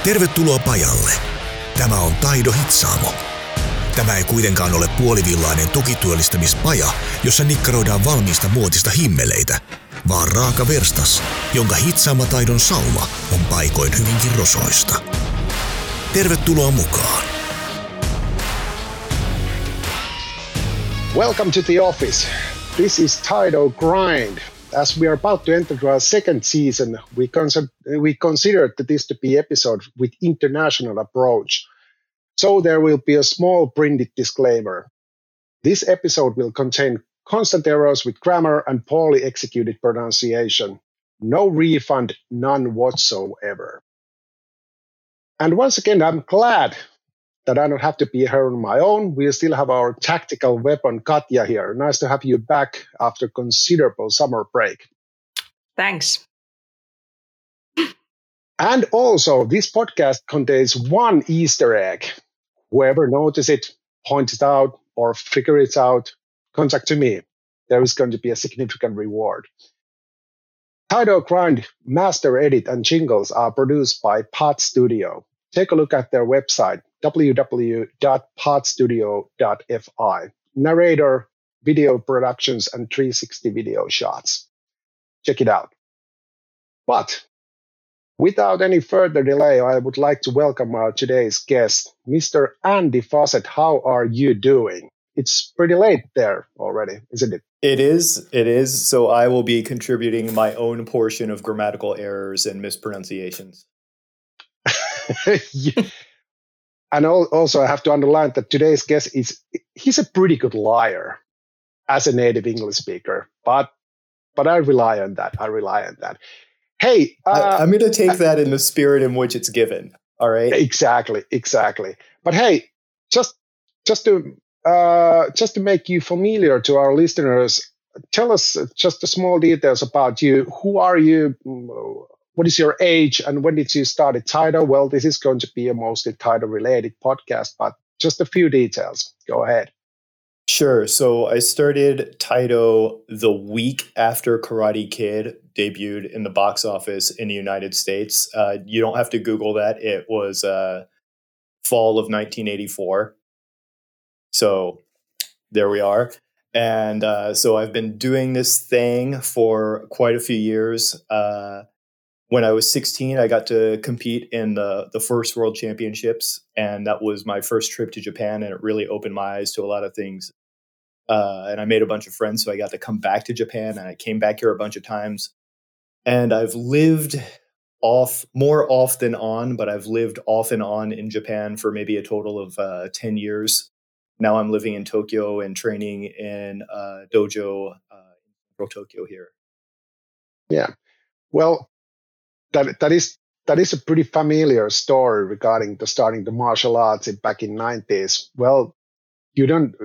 Tervetuloa pajalle. Tämä on Taido Hitsaamo. Tämä ei kuitenkaan ole puolivillainen tukityöllistämispaja, jossa nikkaroidaan valmiista muotista himmeleitä, vaan raaka verstas, jonka hitsaamataidon sauma on paikoin hyvinkin rosoista. Tervetuloa mukaan. Welcome to the office. This is Taido Grind. As we are about to enter our second season, we considered this to be episode with international approach. So there will be a small printed disclaimer. This episode will contain constant errors with grammar and poorly executed pronunciation. No refund, none whatsoever. And once again, I'm glad that I don't have to be here on my own. We still have our tactical weapon, Katja, here. Nice to have you back after considerable summer break. Thanks. And also, this podcast contains one Easter egg. Whoever notices it, points it out, or figure it out, contact to me. There is going to be a significant reward. Taido Grind, Master Edit, and jingles are produced by Pod Studio. Take a look at their website, www.podstudio.fi. Narrator, video productions, and 360 video shots. Check it out. But without any further delay, I would like to welcome our today's guest, Mr. Andy Fawcett. How are you doing? It's pretty late there already, isn't it? It is. So I will be contributing my own portion of grammatical errors and mispronunciations. And also, I have to underline that today's guest he's a pretty good liar as a native English speaker, but I rely on that. Hey, I'm going to take that in the spirit in which it's given. All right. Exactly. But hey, just to make you familiar to our listeners, tell us just the small details about you. Who are you? What is your age, and when did you start at Taido? Well, this is going to be a mostly Taido-related podcast, but just a few details. Go ahead. Sure. So I started Taido the week after Karate Kid debuted in the box office in the United States. You don't have to Google that. It was fall of 1984. So there we are. And so I've been doing this thing for quite a few years. When I was 16, I got to compete in the first World Championships, and that was my first trip to Japan, and it really opened my eyes to a lot of things. And I made a bunch of friends, so I got to come back to Japan, and I came back here a bunch of times. And I've lived more off than on, but I've lived off and on in Japan for maybe a total of 10 years. Now I'm living in Tokyo and training in dojo in central Tokyo here. Yeah. Well, that is a pretty familiar story regarding starting the martial arts back in 90s. Well, you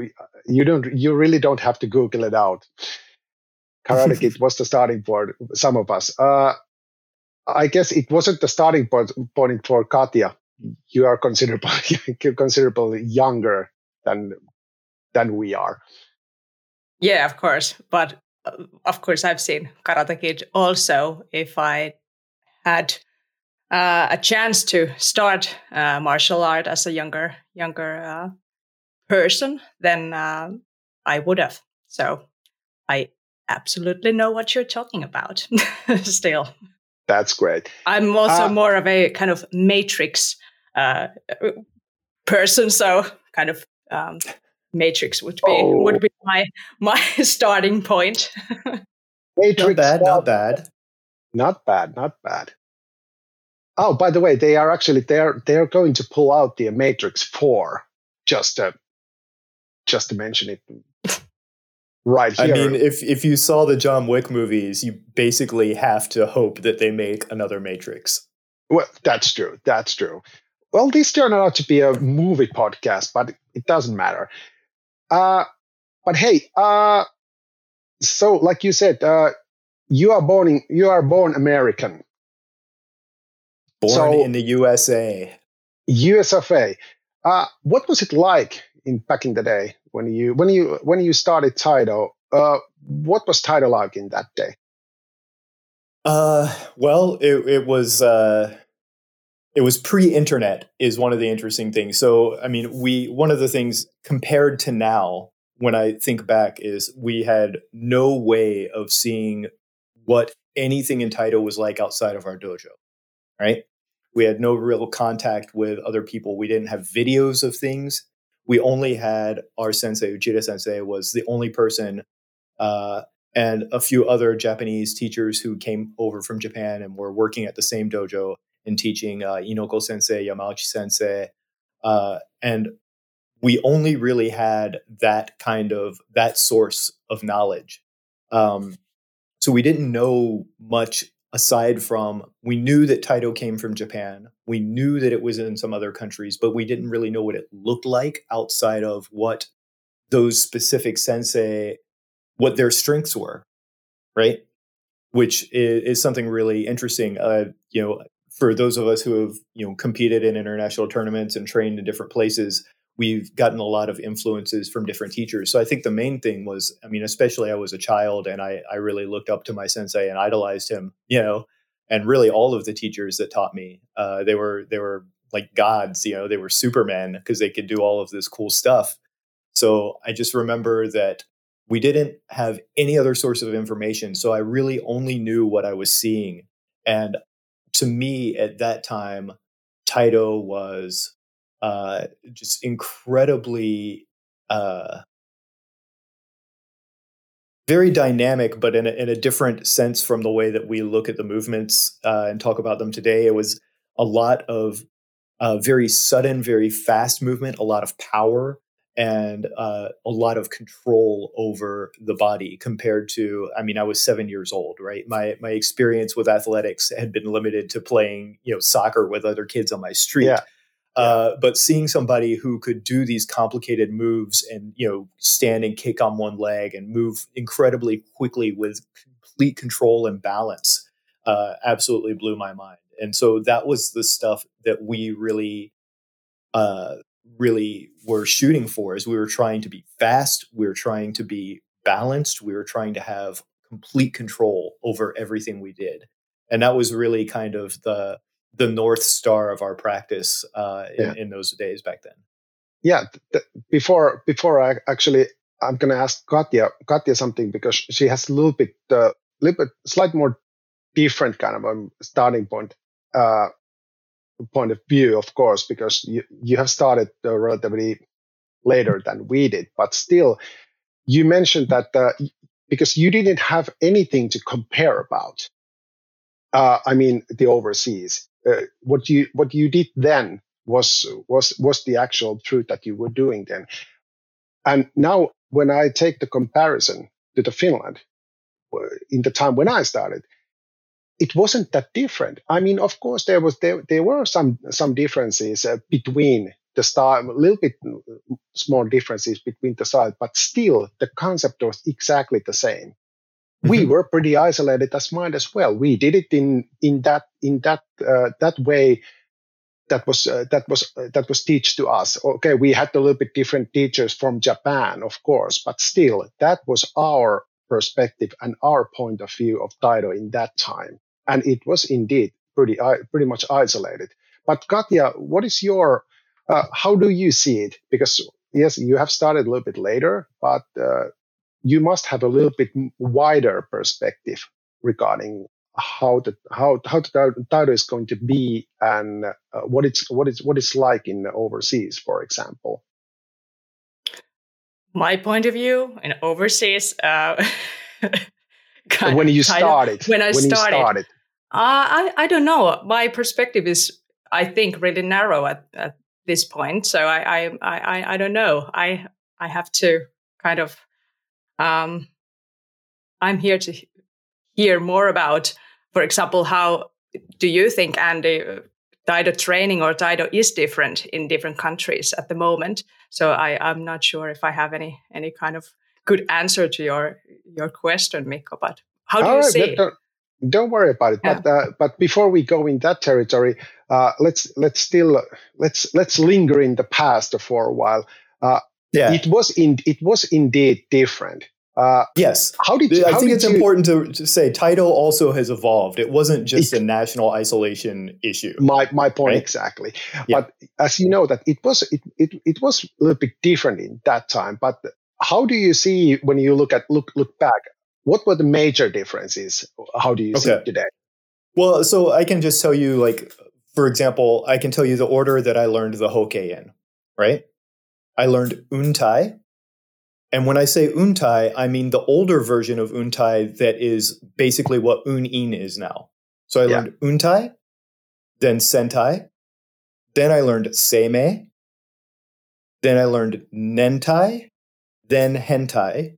really don't have to Google it out. Karate Kid was the starting point for some of us. I guess it wasn't the starting point for Katja. You are considerably younger than we are. Yeah, of course. But of course, I've seen Karate Kid also. If I had a chance to start martial art as a younger person, then I would have. So I absolutely know what you're talking about still. That's great. I'm also more of a kind of Matrix person, so kind of Matrix would be my starting point. Matrix, not bad. Not bad. Oh, by the way, they're going to pull out the Matrix 4. Just to mention it right here. I mean, if you saw the John Wick movies, you basically have to hope that they make another Matrix. Well, that's true. Well, this turned out to be a movie podcast, but it doesn't matter. But hey, so like you said, you are born American. Born in the USA. US of A. What was it like back in the day when you started Taido? What was Taido like in that day? Well, it was it was pre-internet is one of the interesting things. So, I mean, one of the things compared to now, when I think back, is we had no way of seeing what anything in Taito was like outside of our dojo, right? We had no real contact with other people. We didn't have videos of things. We only had our sensei, Ujita sensei, was the only person, and a few other Japanese teachers who came over from Japan and were working at the same dojo and teaching, Inoko sensei, Yamauchi sensei. And we only really had that source of knowledge. So we didn't know much aside from, we knew that Taito came from Japan. We knew that it was in some other countries, but we didn't really know what it looked like outside of what those specific sensei, what their strengths were, right? Which is something really interesting. For those of us who have, competed in international tournaments and trained in different places, we've gotten a lot of influences from different teachers. So I think the main thing was, I mean, especially I was a child and I really looked up to my sensei and idolized him, and really all of the teachers that taught me, they were like gods, they were supermen because they could do all of this cool stuff. So I just remember that we didn't have any other source of information. So I really only knew what I was seeing. And to me at that time, Taito was just incredibly very dynamic, but in a different sense from the way that we look at the movements and talk about them today. It was a lot of very sudden, very fast movement, a lot of power, and a lot of control over the body compared to, I mean, I was 7 years old, right? My experience with athletics had been limited to playing, soccer with other kids on my street. Yeah. But seeing somebody who could do these complicated moves and, stand and kick on one leg and move incredibly quickly with complete control and balance, absolutely blew my mind. And so that was the stuff that we really were shooting for, is we were trying to be fast. We were trying to be balanced. We were trying to have complete control over everything we did. And that was really kind of the North Star of our practice in those days back then. Yeah. Before I'm going to ask Katja something, because she has a little bit slightly more different kind of a starting point of view, of course, because you have started relatively later than we did, but still, you mentioned that because you didn't have anything to compare about. The overseas. What you did then was the actual truth that you were doing then. And now, when I take the comparison to the Finland, in the time when I started, it wasn't that different. I mean, of course, there were some differences between the style, a little bit small differences between the styles, but still the concept was exactly the same. Mm-hmm. We were pretty isolated as mind as well. We did it in that way that was taught to us. Okay, we had a little bit different teachers from Japan, of course, but still that was our perspective and our point of view of Taito in that time. And it was indeed pretty much isolated. But Katja, what is your, how do you see it? Because yes, you have started a little bit later, but you must have a little bit wider perspective regarding how the Taito is going to be, and what it's like in overseas, for example. My point of view in overseas. When you started. I don't know. My perspective is, I think, really narrow at this point. So I don't know. I have to kind of. I'm here to hear more about, for example, how do you think, Andy, Taito training or Taito is different in different countries at the moment? So I'm not sure if I have any kind of good answer to your question, Mikko, but how do you see it? Don't worry about it. Yeah. But before we go in that territory, let's linger in the past for a while. It was indeed different. Yes. How did I think it's important to say Taito also has evolved. It wasn't just a national isolation issue. My point, right? Exactly. Yeah. But as you know, that it was a little bit different in that time. But how do you see when you look back? What were the major differences? How do you see it today? Well, so I can just tell you, like, for example, I can tell you the order that I learned the Hokei in, right? I learned Untai. And when I say Untai, I mean the older version of Untai that is basically what Un-in is now. So I learned Untai, then Sentai, then I learned Seimei, then I learned Nentai, then Hentai,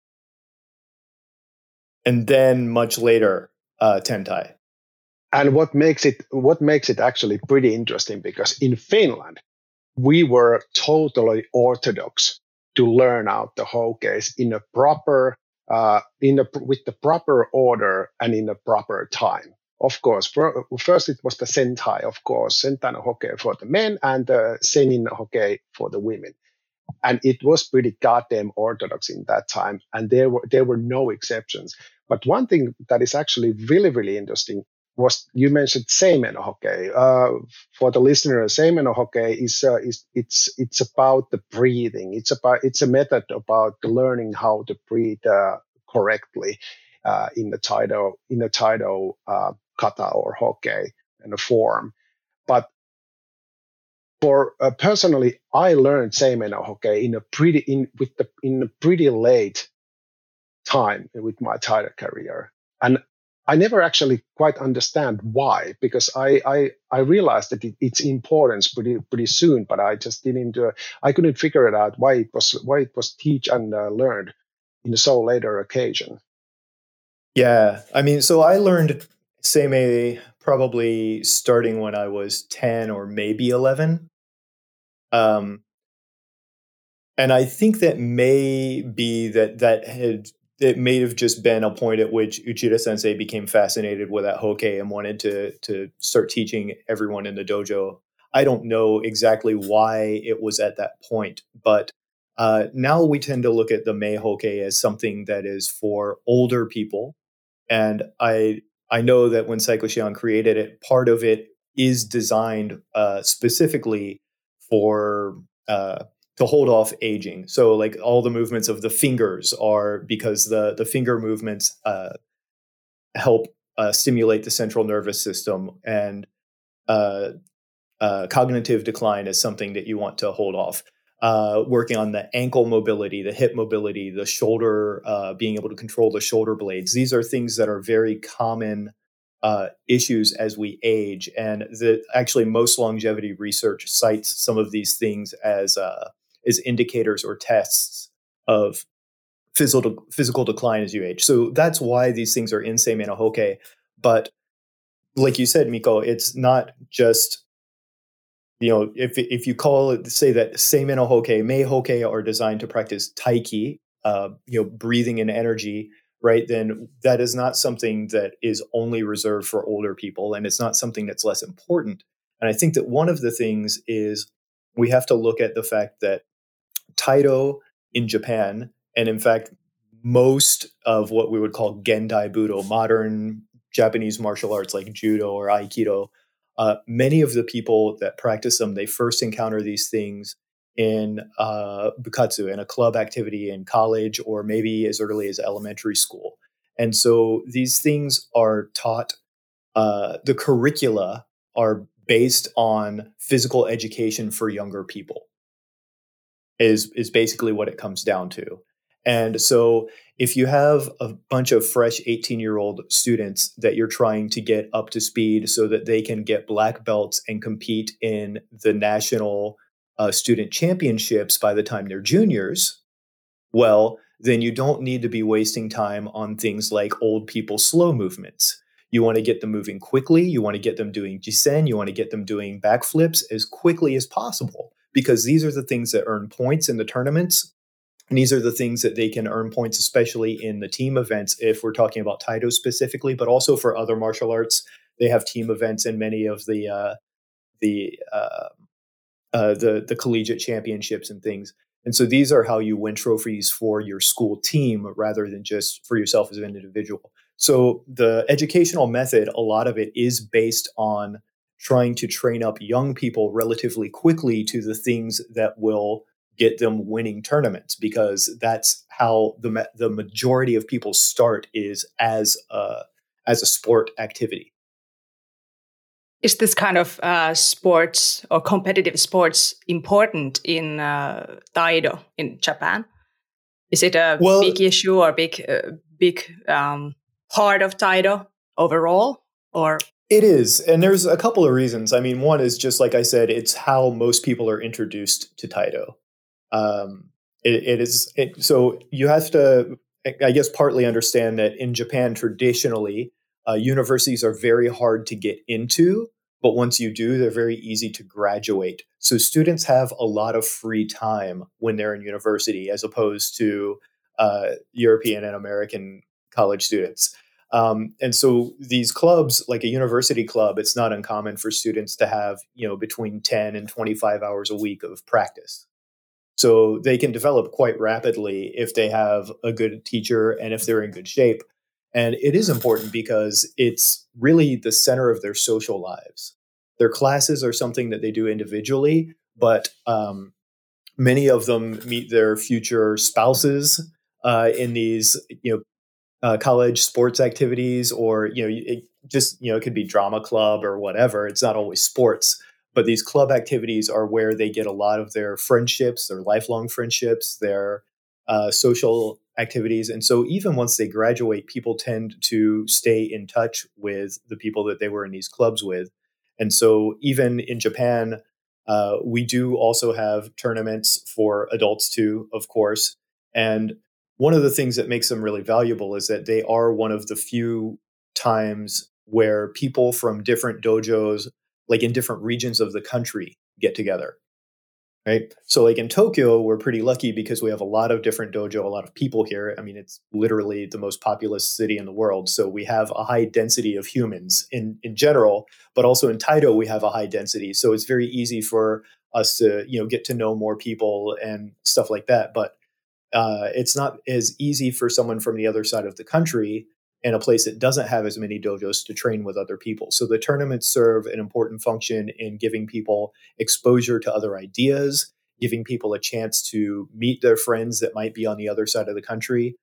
and then much later, Tentai. And what makes it actually pretty interesting, because in Finland, we were totally orthodox to learn out the Hokeis in a proper, with the proper order and in a proper time. Of course, first it was the Sentai, of course, Sentai no Hokei for the men and the Senin Hokei for the women. And it was pretty goddamn orthodox in that time, and there were no exceptions. But one thing that is actually really, really interesting was, you mentioned Seimei no Hokei. For the listener, Seimei no Hokei is it's about the breathing. It's a method about learning how to breathe correctly in the Taito kata or Hokei in a form. But for personally, I learned Seimei no Hokei in a pretty late time with my Taito career, and I never actually quite understand why, because I realized that its importance pretty soon, but I just didn't. I couldn't figure it out why it was teach and learned in a so later occasion. Yeah, I mean, so I learned Seimei probably starting when I was 10 or maybe 11. And I think that may be it may have just been a point at which Uchida Sensei became fascinated with that Hokei and wanted to start teaching everyone in the dojo. I don't know exactly why it was at that point, but now we tend to look at the Mei Hokei as something that is for older people. And I know that when Saiko Shion created it, part of it is designed specifically for to hold off aging. So like all the movements of the fingers are because the finger movements help stimulate the central nervous system, and cognitive decline is something that you want to hold off. Working on the ankle mobility, the hip mobility, the shoulder, being able to control the shoulder blades. These are things that are very common issues as we age. And actually most longevity research cites some of these things as indicators or tests of physical decline as you age. So that's why these things are in Seimei no Hokei. But like you said, Miko, it's not just, if you say that Seimei no Hokei, Mei Hokei are designed to practice Taiki, breathing and energy, right? Then that is not something that is only reserved for older people, and it's not something that's less important. And I think that one of the things is we have to look at the fact that Taito in Japan, and in fact, most of what we would call Gendai Budo, modern Japanese martial arts like Judo or Aikido, many of the people that practice them, they first encounter these things in bukatsu, in a club activity in college, or maybe as early as elementary school. And so these things are taught, the curricula are based on physical education for younger people. Is basically what it comes down to. And so if you have a bunch of fresh 18-year-old students that you're trying to get up to speed so that they can get black belts and compete in the national student championships by the time they're juniors, well, then you don't need to be wasting time on things like old people slow movements. You want to get them moving quickly. You want to get them doing jisen. You want to get them doing backflips as quickly as possible, because these are the things that earn points in the tournaments. And these are the things that they can earn points, especially in the team events, if we're talking about Taito specifically, but also for other martial arts. They have team events in many of the collegiate championships and things. And so these are how you win trophies for your school team rather than just for yourself as an individual. So the educational method, a lot of it is based on trying to train up young people relatively quickly to the things that will get them winning tournaments, because that's how the majority of people start, is as a sport activity. Is this kind of sports or competitive sports important in Taido in Japan? Is it a big issue or big part of Taido overall? Or it is, and there's a couple of reasons. I mean, one is just like I said, it's how most people are introduced to Taido. So you have to, I guess, partly understand that in Japan traditionally, universities are very hard to get into, but once you do, they're very easy to graduate. So students have a lot of free time when they're in university, as opposed to European and American college students. And so these clubs, like a university club, it's not uncommon for students to have, between 10 and 25 hours a week of practice. So they can develop quite rapidly if they have a good teacher and if they're in good shape. And it is important because it's really the center of their social lives. Their classes are something that they do individually, but many of them meet their future spouses in these, college sports activities, or, it could be drama club or whatever. It's not always sports. But these club activities are where they get a lot of their friendships, their lifelong friendships, their social activities. And so even once they graduate, people tend to stay in touch with the people that they were in these clubs with. And so even in Japan, we do also have tournaments for adults too, of course. And one of the things that makes them really valuable is that they are one of the few times where people from different dojos, like in different regions of the country, get together, right? So like in Tokyo, we're pretty lucky because we have a lot of different dojo, a lot of people here. I mean, it's literally the most populous city in the world. So we have a high density of humans in general, but also in Taido, we have a high density. So it's very easy for us to, get to know more people and stuff like that. But it's not as easy for someone from the other side of the country in a place that doesn't have as many dojos to train with other people. So the tournaments serve an important function in giving people exposure to other ideas, giving people a chance to meet their friends that might be on the other side of the country.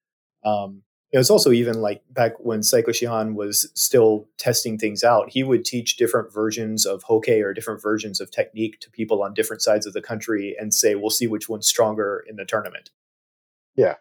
It's also even like back when Saiko Shihan was still testing things out, he would teach different versions of Hokei or different versions of technique to people on different sides of the country and say, we'll see which one's stronger in the tournament. Yeah.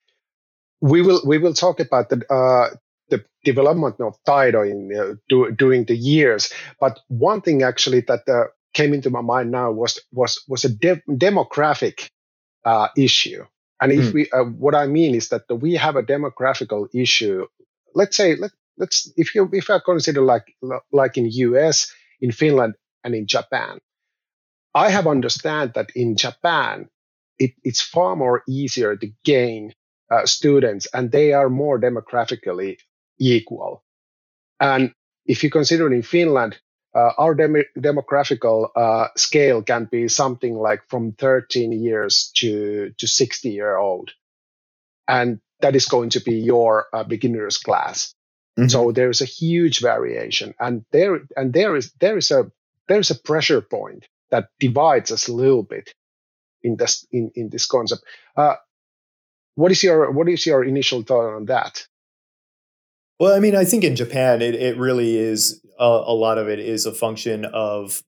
We will talk about the development of Taido during the years. But one thing actually that came into my mind now was a demographic issue. And if what I mean is that we have a demographical issue. Let's say if I consider like in US, in Finland, and in Japan, I have understand that in Japan it's far more easier to gain students, and they are more demographically equal. And if you consider in Finland, our demographical scale can be something like from 13 years to 60-year-old. And that is going to be your beginner's class. Mm-hmm. So there is a huge variation. And there is a pressure point that divides us a little bit in this concept. What is your initial thought on that? Well, I mean, I think in Japan, it really is a lot of it is a function of,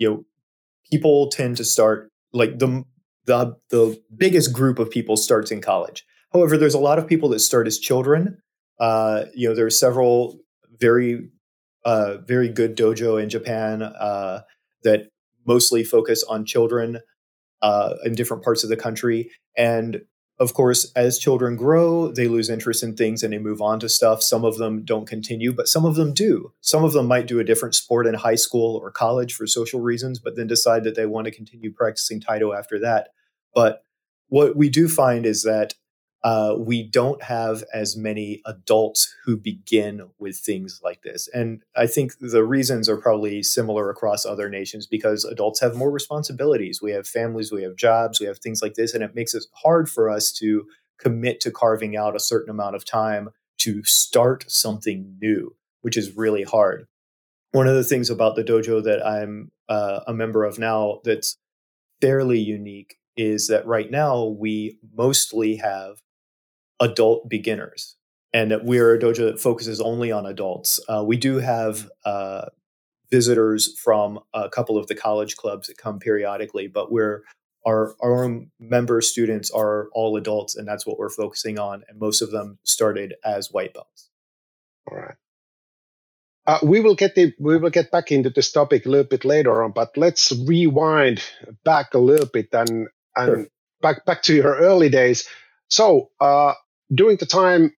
people tend to start like the biggest group of people starts in college. However, there's a lot of people that start as children. There's several very good dojo in Japan that mostly focus on children in different parts of the country. And of course, as children grow, they lose interest in things and they move on to stuff. Some of them don't continue, but some of them do. Some of them might do a different sport in high school or college for social reasons, but then decide that they want to continue practicing Taido after that. But what we do find is that we don't have as many adults who begin with things like this. And I think the reasons are probably similar across other nations because adults have more responsibilities. We have families, we have jobs, we have things like this. And it makes it hard for us to commit to carving out a certain amount of time to start something new, which is really hard. One of the things about the dojo that I'm a member of now that's fairly unique is that right now we mostly have adult beginners, and that we're a dojo that focuses only on adults. We do have visitors from a couple of the college clubs that come periodically, but our own member students are all adults, and that's what we're focusing on. And most of them started as white belts. All right. We will get back into this topic a little bit later on, but let's rewind back a little bit and Sure. back to your early days. So during the time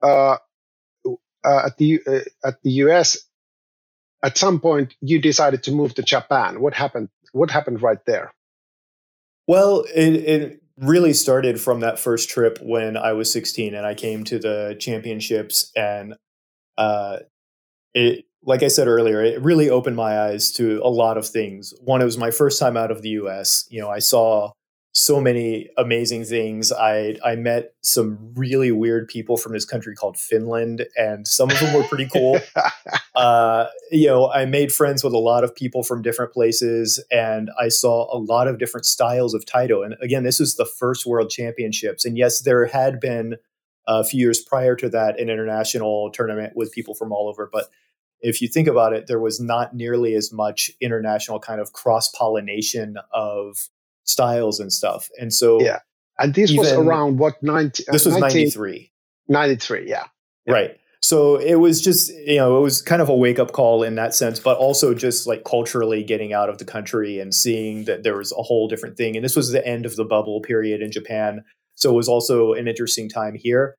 at the US, at some point you decided to move to Japan. What happened? What happened right there? Well, it really started from that first trip when I was 16 and I came to the championships, and it, like I said earlier, it really opened my eyes to a lot of things. One, it was my first time out of the US. I saw so many amazing things. I met some really weird people from this country called Finland, and some of them were pretty cool. I made friends with a lot of people from different places, and I saw a lot of different styles of Taito. And again, this is the first World Championships. And yes, there had been a few years prior to that an international tournament with people from all over. But if you think about it, there was not nearly as much international kind of cross-pollination of styles and stuff. And so yeah. And this was around what, this was 93. 93, yeah. Right. So it was just, it was kind of a wake-up call in that sense, but also just like culturally getting out of the country and seeing that there was a whole different thing. And this was the end of the bubble period in Japan. So it was also an interesting time here.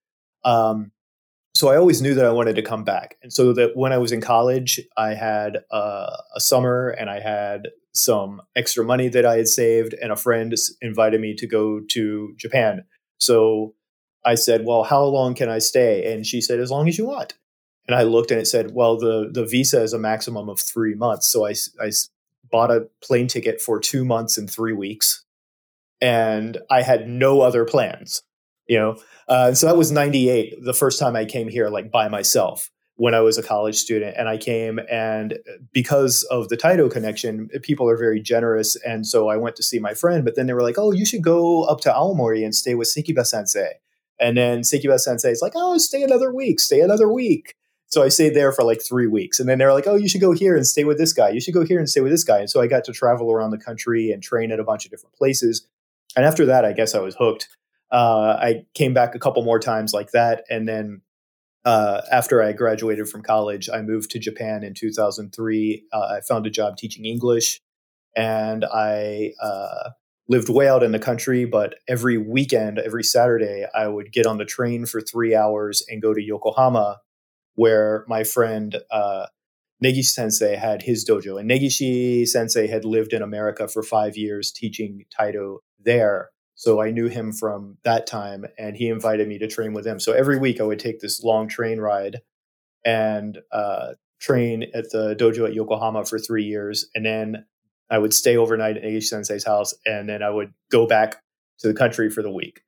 So I always knew that I wanted to come back. And so that when I was in college, I had a summer and I had some extra money that I had saved, and a friend invited me to go to Japan. So I said, well, how long can I stay? And she said, as long as you want. And I looked and it said, well, the visa is a maximum of 3 months. So I bought a plane ticket for 2 months and 3 weeks. And I had no other plans, so that was 98, the first time I came here, like by myself when I was a college student. And I came, and because of the Taito connection, people are very generous. And so I went to see my friend, but then they were like, oh, you should go up to Aomori and stay with Sekiba sensei. And then Sekiba sensei is like, oh, stay another week. So I stayed there for like 3 weeks. And then they're like, oh, you should go here and stay with this guy. You should go here and stay with this guy. And so I got to travel around the country and train at a bunch of different places. And after that, I guess I was hooked. I came back a couple more times like that. And then after I graduated from college, I moved to Japan in 2003. I found a job teaching English, and I lived way out in the country. But every weekend, every Saturday, I would get on the train for 3 hours and go to Yokohama, where my friend Negishi sensei had his dojo. And Negishi sensei had lived in America for 5 years teaching Taito there. So I knew him from that time, and he invited me to train with him. So every week I would take this long train ride and train at the dojo at Yokohama for 3 years. And then I would stay overnight at Negishi sensei's house, and then I would go back to the country for the week.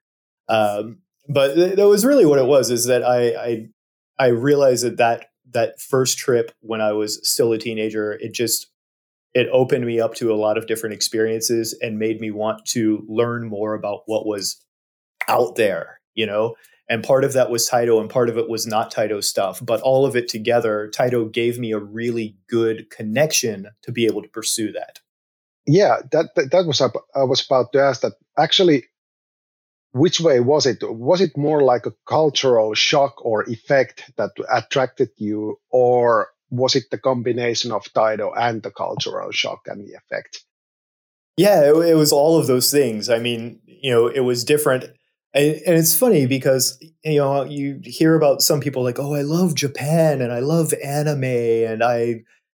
But that was really what it was, is that I realized that first trip when I was still a teenager, it opened me up to a lot of different experiences and made me want to learn more about what was out there, and part of that was Taito and part of it was not Taito stuff, but all of it together, Taito gave me a really good connection to be able to pursue that. Yeah, that was I was about to ask that. Actually, which way was it? Was it more like a cultural shock or effect that attracted you, or was it the combination of Taito and the cultural shock and the effect? Yeah, it was all of those things. I mean, it was different. And it's funny because, you hear about some people like, oh, I love Japan and I love anime and I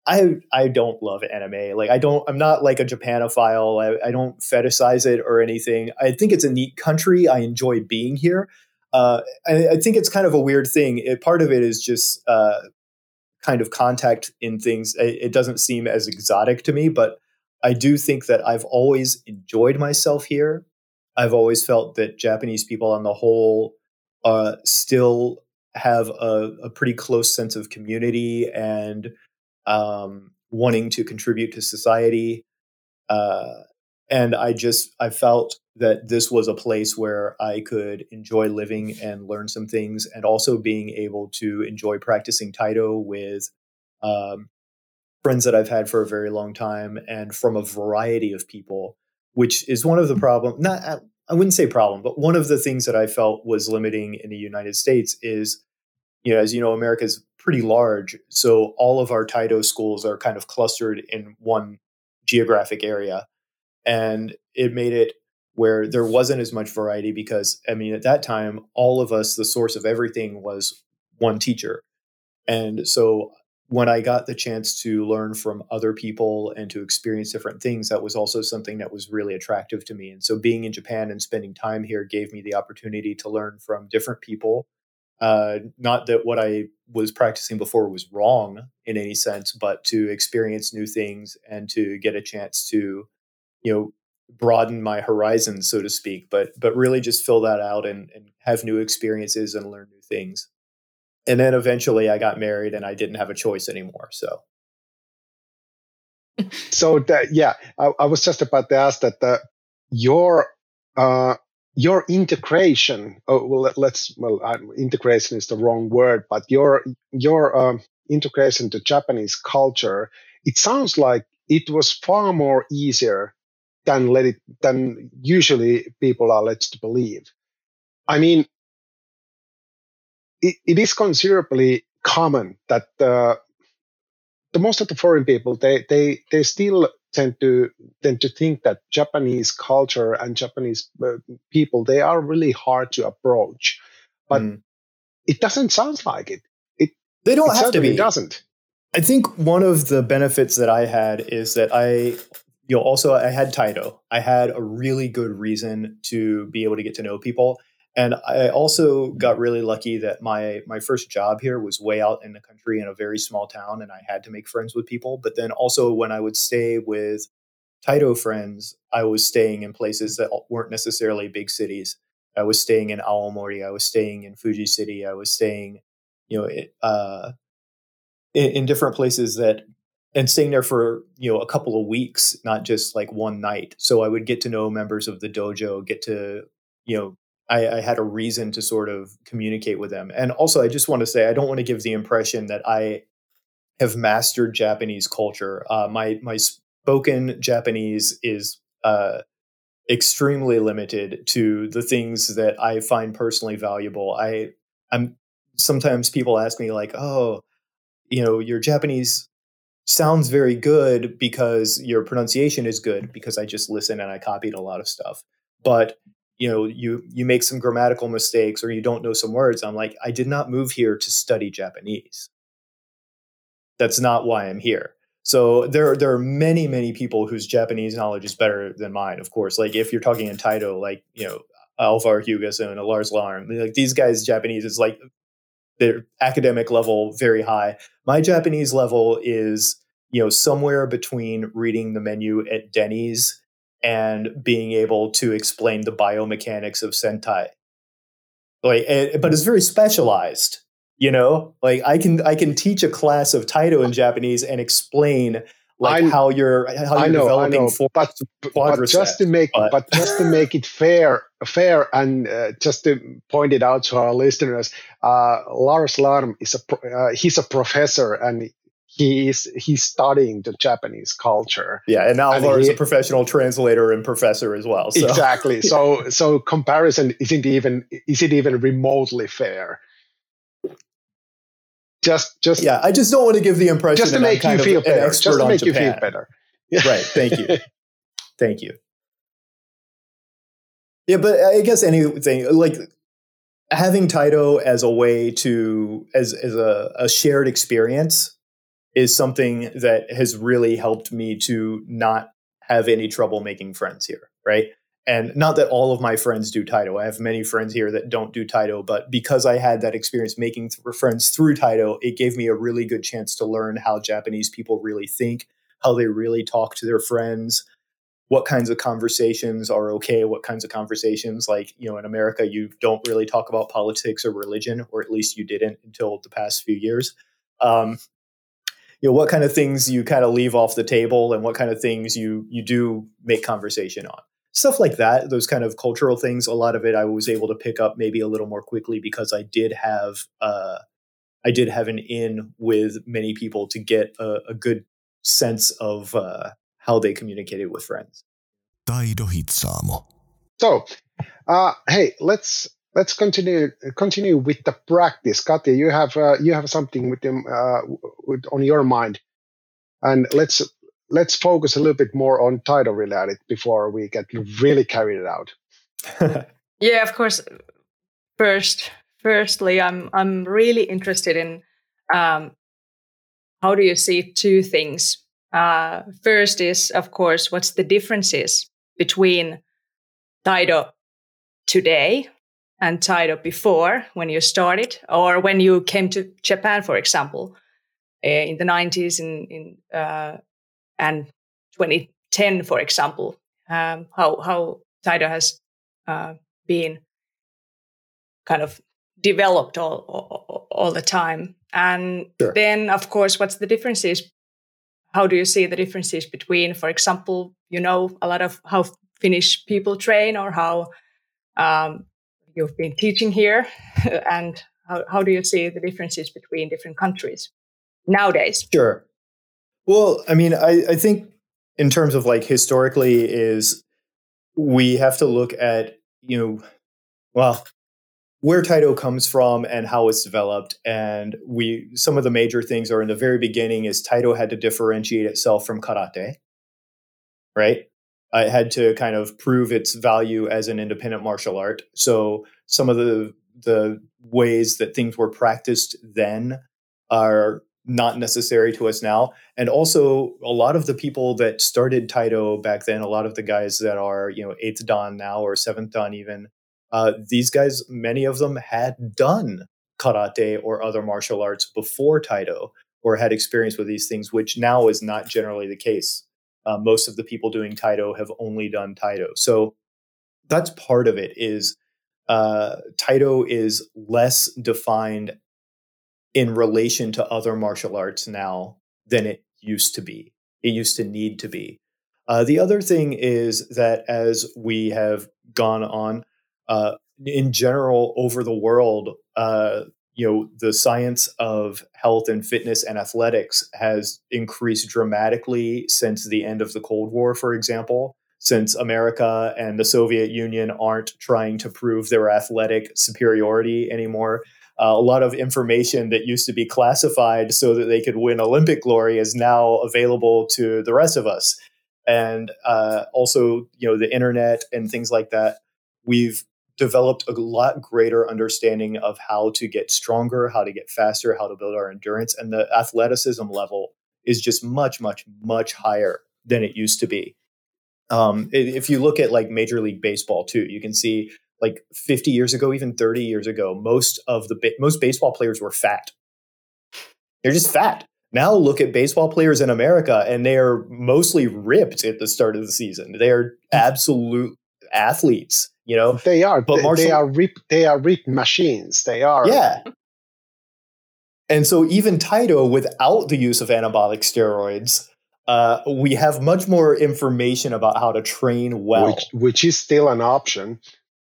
I don't love anime. Like I'm not like a Japanophile. I don't fetishize it or anything. I think it's a neat country. I enjoy being here. I think it's kind of a weird thing. Part of it is just kind of contact in things. It doesn't seem as exotic to me, but I do think that I've always enjoyed myself here. I've always felt that Japanese people on the whole still have a pretty close sense of community and wanting to contribute to society. And I felt that this was a place where I could enjoy living and learn some things, and also being able to enjoy practicing Taito with friends that I've had for a very long time and from a variety of people, which is one of the problem. I wouldn't say problem, but one of the things that I felt was limiting in the United States is, as you know, America is pretty large. So all of our Taito schools are kind of clustered in one geographic area. And it made it where there wasn't as much variety because, I mean, at that time, all of us, the source of everything was one teacher. And so when I got the chance to learn from other people and to experience different things, that was also something that was really attractive to me. And so being in Japan and spending time here gave me the opportunity to learn from different people. Not that what I was practicing before was wrong in any sense, but to experience new things and to get a chance to, broaden my horizons, so to speak, but really just fill that out and have new experiences and learn new things. And then eventually I got married and I didn't have a choice anymore. So I was just about to ask that your integration. Integration is the wrong word, but your integration to Japanese culture. It sounds like it was far more easier than usually people are led to believe. I mean, it is considerably common that the most of the foreign people they still tend to think that Japanese culture and Japanese people, they are really hard to approach, but it doesn't sound like it. They don't have to be. It doesn't. I think one of the benefits that I had is that I had Taito. I had a really good reason to be able to get to know people. And I also got really lucky that my first job here was way out in the country in a very small town, and I had to make friends with people. But then also when I would stay with Taito friends, I was staying in places that weren't necessarily big cities. I was staying in Aomori. I was staying in Fuji City. I was staying, in different places and staying there for, a couple of weeks, not just like one night. So I would get to know members of the dojo, get to, I had a reason to sort of communicate with them. And also, I just want to say, I don't want to give the impression that I have mastered Japanese culture. My spoken Japanese is extremely limited to the things that I find personally valuable. I'm sometimes people ask me like, oh, your Japanese sounds very good because your pronunciation is good, because I just listen and I copied a lot of stuff. But you make some grammatical mistakes or you don't know some words. I'm like, I did not move here to study Japanese. That's not why I'm here. So there are many, many people whose Japanese knowledge is better than mine, of course. Like if you're talking in Taito, like, Alvar Hugas and Lars Larm, like these guys' Japanese is like their academic level very high. My Japanese level is, somewhere between reading the menu at Denny's and being able to explain the biomechanics of Sentai. But it's very specialized, like I can teach a class of Taito in Japanese and explain how you're developing but just to make it fair and just to point it out to our listeners, Lars Larm he's a professor and he's studying the Japanese culture. Yeah, and Alvar is a professional translator and professor as well. So. Exactly. So comparison isn't even remotely fair. Just I just don't want to give the impression just to make you feel better. Just to make you feel better. Right. Thank you. Thank you. Yeah, but I guess anything like having Taito as a way to as a shared experience is something that has really helped me to not have any trouble making friends here, right? And not that all of my friends do Taito. I have many friends here that don't do Taito, but because I had that experience making friends through Taito, it gave me a really good chance to learn how Japanese people really think, how they really talk to their friends, what kinds of conversations are okay, what kinds of conversations, like, you know, in America, you don't really talk about politics or religion, or at least you didn't until the past few years. You know, what kind of things you kind of leave off the table and what kind of things you do make conversation on. Stuff like that, those kind of cultural things, a lot of it I was able to pick up maybe a little more quickly because I did have an in with many people to get a good sense of how they communicated with friends. Taido Hitsaamo. So, hey, let's continue with the practice. Katja, you have something with them on your mind, and let's focus a little bit more on Taito related before we get really carried out. Yeah, of course. Firstly, I'm really interested in how do you see two things. First is, of course, what's the differences between Taito today and Taito before, when you started, or when you came to Japan, for example, in the 90s and 2010, for example, how Taito has been kind of developed all the time. And Sure. Then, of course, what's the differences? How do you see the differences between, for example, you know, a lot of how Finnish people train, or how you've been teaching here, and how do you see the differences between different countries nowadays? Sure. Well, I mean, I think in terms of like historically is we have to look at, you know, well, where Taito comes from and how it's developed. And some of the major things are in the very beginning is Taito had to differentiate itself from karate, right? It had to kind of prove its value as an independent martial art. So some of the ways that things were practiced then are not necessary to us now. And also a lot of the people that started Taito back then, a lot of the guys that are, you know, 8th Dan now or 7th Dan even, these guys, many of them had done karate or other martial arts before Taito, or had experience with these things, which now is not generally the case. Most of the people doing Taito have only done Taito. So that's part of it is Taito is less defined in relation to other martial arts now than it used to be. It used to need to be. The other thing is that as we have gone on, in general over the world, you know, the science of health and fitness and athletics has increased dramatically since the end of the Cold War, for example, since America and the Soviet Union aren't trying to prove their athletic superiority anymore. A lot of information that used to be classified so that they could win Olympic glory is now available to the rest of us. And also, you know, the internet and things like that, we've developed a lot greater understanding of how to get stronger, how to get faster, how to build our endurance. And the athleticism level is just much, much, much higher than it used to be. If you look at like Major League Baseball too, you can see like 50 years ago, even 30 years ago, most baseball players were fat. They're just fat. Now look at baseball players in America, and they are mostly ripped at the start of the season. They are absolute athletes, you know. They are, but they are ripped machines. They are, yeah. And so even Taito, without the use of anabolic steroids, we have much more information about how to train well, which is still an option.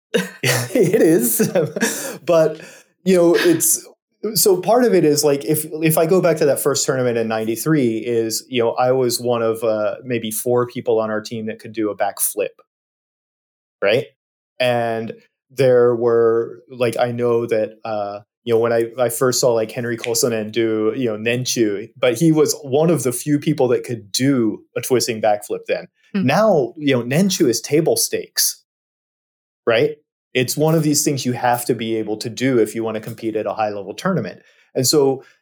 It is, but you know, it's so part of it is like if I go back to that first tournament in '93, is, you know, I was one of maybe 4 people on our team that could do a backflip, right? And there were like, I know that you know, when I first saw like Henry Kosonen do, you know, Nenchu, but he was one of the few people that could do a twisting backflip then. Mm-hmm. Now, you know, Nenchu is table stakes. Right? It's one of these things you have to be able to do if you want to compete at a high level tournament. And so,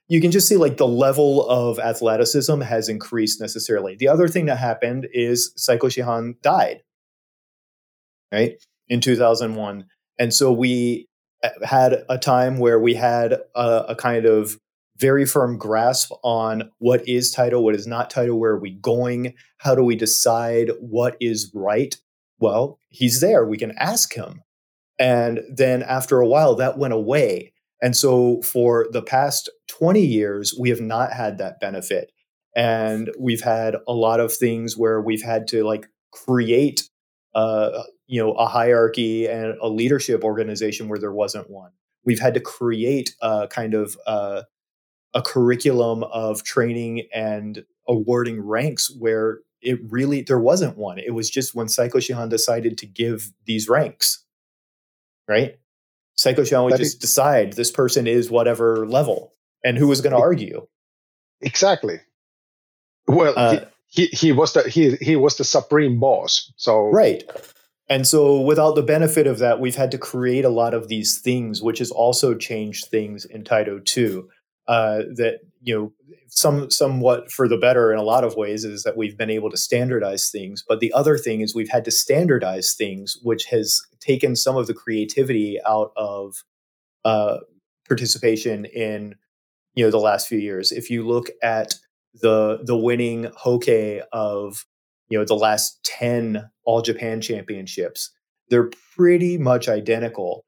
you can just see like the level of athleticism has increased necessarily. The other thing that happened is Saiko Shihan died, right, in 2001. And so we had a time where we had a kind of very firm grasp on what is Taito, what is not Taito, where are we going, how do we decide what is right? Well, he's there. We can ask him. And then after a while, that went away. And so for the past 20 years, we have not had that benefit. And we've had a lot of things where we've had to like create a hierarchy and a leadership organization where there wasn't one. We've had to create a kind of a curriculum of training and awarding ranks where there wasn't one. It was just when Saiko Shihan decided to give these ranks, right? Saiko Shihan would just decide this person is whatever level, and who was going to argue? Exactly. Well, he was the supreme boss. So right. And so without the benefit of that, we've had to create a lot of these things, which has also changed things in Taito too. That, somewhat for the better in a lot of ways is that we've been able to standardize things. But the other thing is we've had to standardize things, which has taken some of the creativity out of participation in, the last few years. If you look at the winning Hokkei of, the last 10 All Japan championships, they're pretty much identical,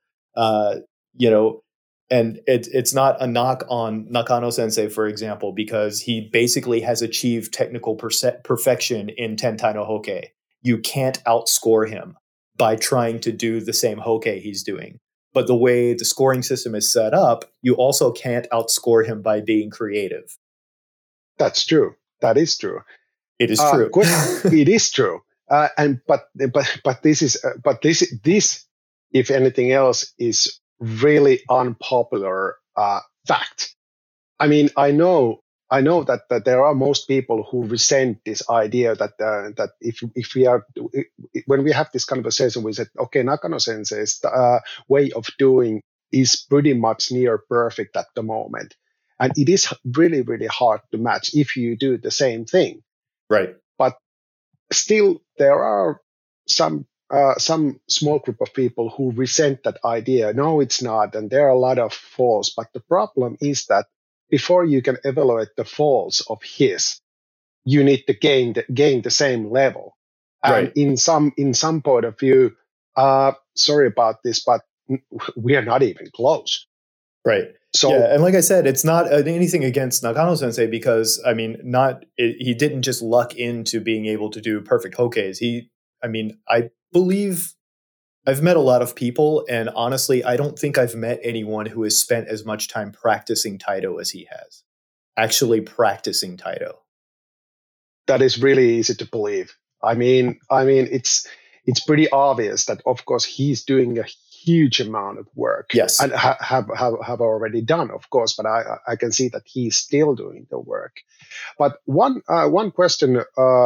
and it's not a knock on Nakano Sensei, for example, because he basically has achieved technical perfection in Tentai no Hokkei. You can't outscore him by trying to do the same Hokkei he's doing. But the way the scoring system is set up, you also can't outscore him by being creative. That's true. That is true. It is true. It is true. But this, if anything else, is really unpopular fact. I mean, I know that there are most people who resent this idea that if we are, when we have this conversation, we said, okay, Nakano Sensei's way of doing is pretty much near perfect at the moment, and it is really, really hard to match if you do the same thing. Right. But still, there are some small group of people who resent that idea. No, it's not, and there are a lot of faults. But the problem is that before you can evaluate the faults of his, you need to gain the same level. And right. in some point of view, sorry about this, but we are not even close. Right. So, yeah, and like I said, it's not anything against Nakano Sensei because he didn't just luck into being able to do perfect Hokkeis. I believe I've met a lot of people, and honestly, I don't think I've met anyone who has spent as much time practicing Taito as he has. Actually practicing Taito. That is really easy to believe. I mean, it's pretty obvious that, of course, he's doing a huge amount of work. Yes. And have already done, of course, but I can see that he's still doing the work. But one question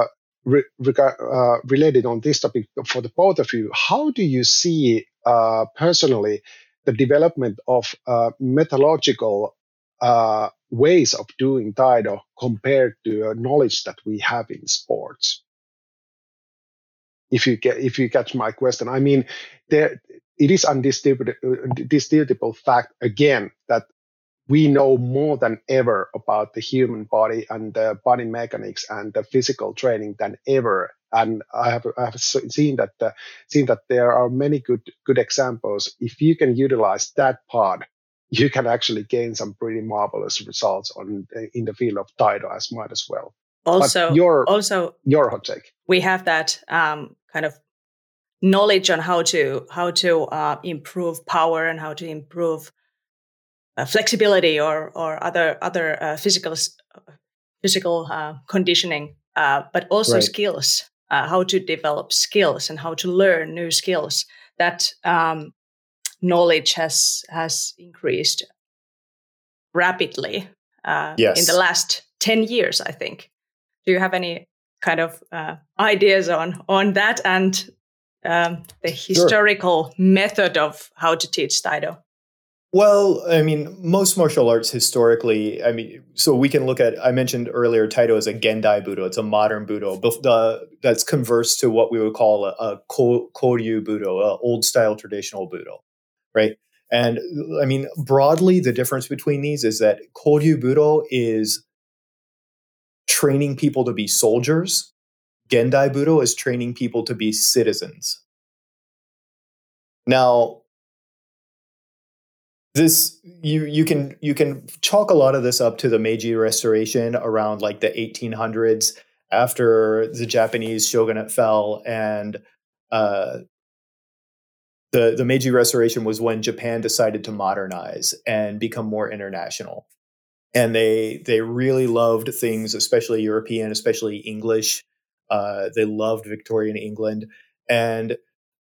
related on this topic for the both of you: how do you see personally the development of methodological ways of doing Taito compared to knowledge that we have in sports? If you catch my question, I mean, it is undisputable fact again that we know more than ever about the human body and the body mechanics and the physical training than ever. And I have seen that there are many good examples. If you can utilize that part, you can actually gain some pretty marvelous results in the field of Taito as much as well. Also, your hot take. We have that kind of knowledge on how to improve power and how to improve flexibility or other physical conditioning, but also skills, how to develop skills and how to learn new skills. That knowledge has increased rapidly in the last 10 years, I think. Do you have any kind of ideas on that and the historical method of how to teach Taito? Well, I mean, most martial arts historically, I mean, so we can look at, I mentioned earlier, Taito is a Gendai Budo. It's a modern Budo, but that's converse to what we would call a Koryu Budo, a old style traditional Budo, right? And I mean, broadly, the difference between these is that Koryu Budo is training people to be soldiers. Gendai Budo is training people to be citizens. Now, this you can chalk a lot of this up to the Meiji Restoration around like the 1800s, after the Japanese shogunate fell, and the Meiji Restoration was when Japan decided to modernize and become more international, and they really loved things, especially European, especially English. They loved Victorian England, and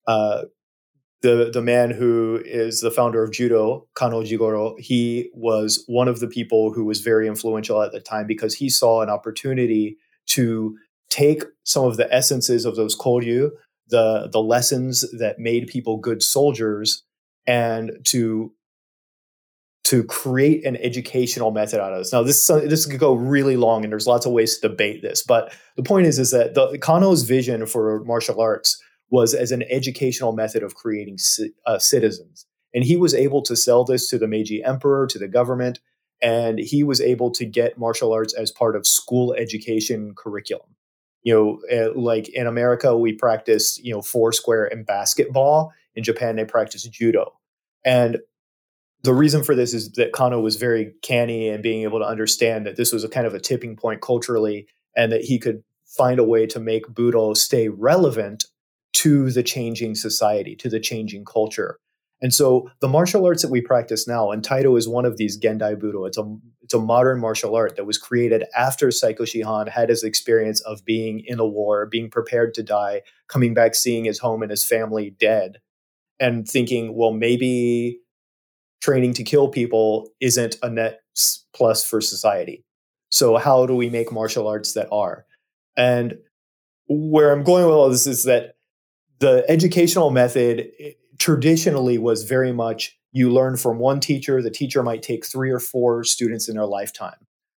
the man who is the founder of judo, Kano Jigoro, he was one of the people who was very influential at the time, because he saw an opportunity to take some of the essences of those koryu, the lessons that made people good soldiers, and to create an educational method out of this. Now, this could go really long, and there's lots of ways to debate this, but the point is that the Kano's vision for martial arts was as an educational method of creating citizens. And he was able to sell this to the Meiji Emperor, to the government, and he was able to get martial arts as part of school education curriculum. Like in America, we practice, foursquare and basketball. In Japan, they practice judo. And the reason for this is that Kano was very canny and being able to understand that this was a kind of a tipping point culturally, and that he could find a way to make Budo stay relevant to the changing society, to the changing culture. And so the martial arts that we practice now, and Taito is one of these Gendai Budo, it's a modern martial art that was created after Saiko Shihan had his experience of being in a war, being prepared to die, coming back, seeing his home and his family dead, and thinking, well, maybe training to kill people isn't a net plus for society. So how do we make martial arts that are? And where I'm going with all this is that the educational method traditionally was very much, you learn from one teacher. The teacher might take 3 or 4 students in their lifetime.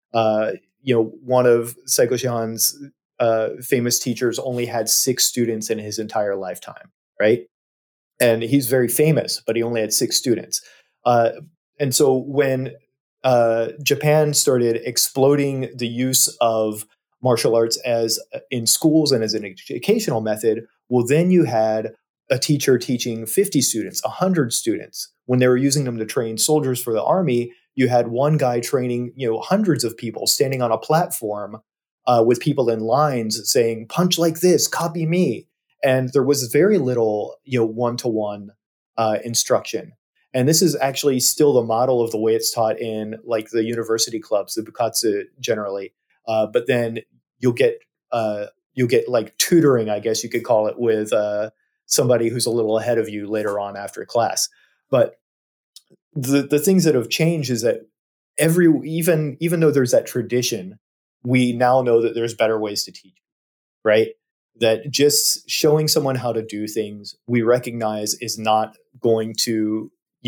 One of Saiko Shihan's famous teachers only had 6 students in his entire lifetime, right? And he's very famous, but he only had 6 students. And so when Japan started exploding the use of martial arts as in schools and as an educational method, well, then you had a teacher teaching 50 students, 100 students. When they were using them to train soldiers for the army, you had one guy training, hundreds of people standing on a platform with people in lines saying, punch like this, copy me. And there was very little, one-to-one instruction. And this is actually still the model of the way it's taught in like the university clubs, the bukatsu generally. But then you'll get like tutoring, I guess you could call it, with somebody who's a little ahead of you later on after class. But the things that have changed is that even though there's that tradition, we now know that there's better ways to teach, right? That just showing someone how to do things, we recognize is not going to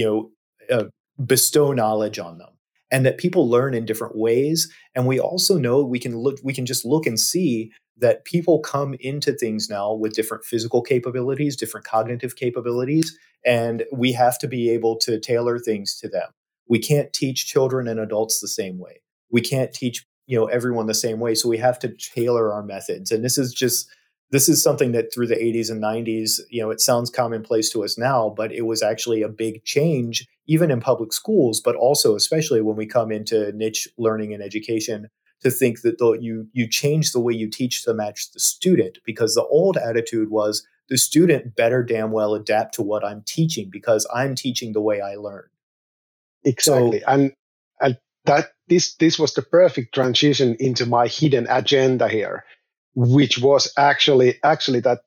bestow knowledge on them, and that people learn in different ways. And we also know we can just look and see that people come into things now with different physical capabilities, different cognitive capabilities, and we have to be able to tailor things to them. We can't teach children and adults the same way. We can't teach everyone the same way. So we have to tailor our methods. And this is something that through the 80s and 90s, it sounds commonplace to us now, but it was actually a big change, even in public schools, but also especially when we come into niche learning and education, to think that you change the way you teach to match the student, because the old attitude was the student better damn well adapt to what I'm teaching because I'm teaching the way I learned. Exactly. So, and that this was the perfect transition into my hidden agenda here, which was actually that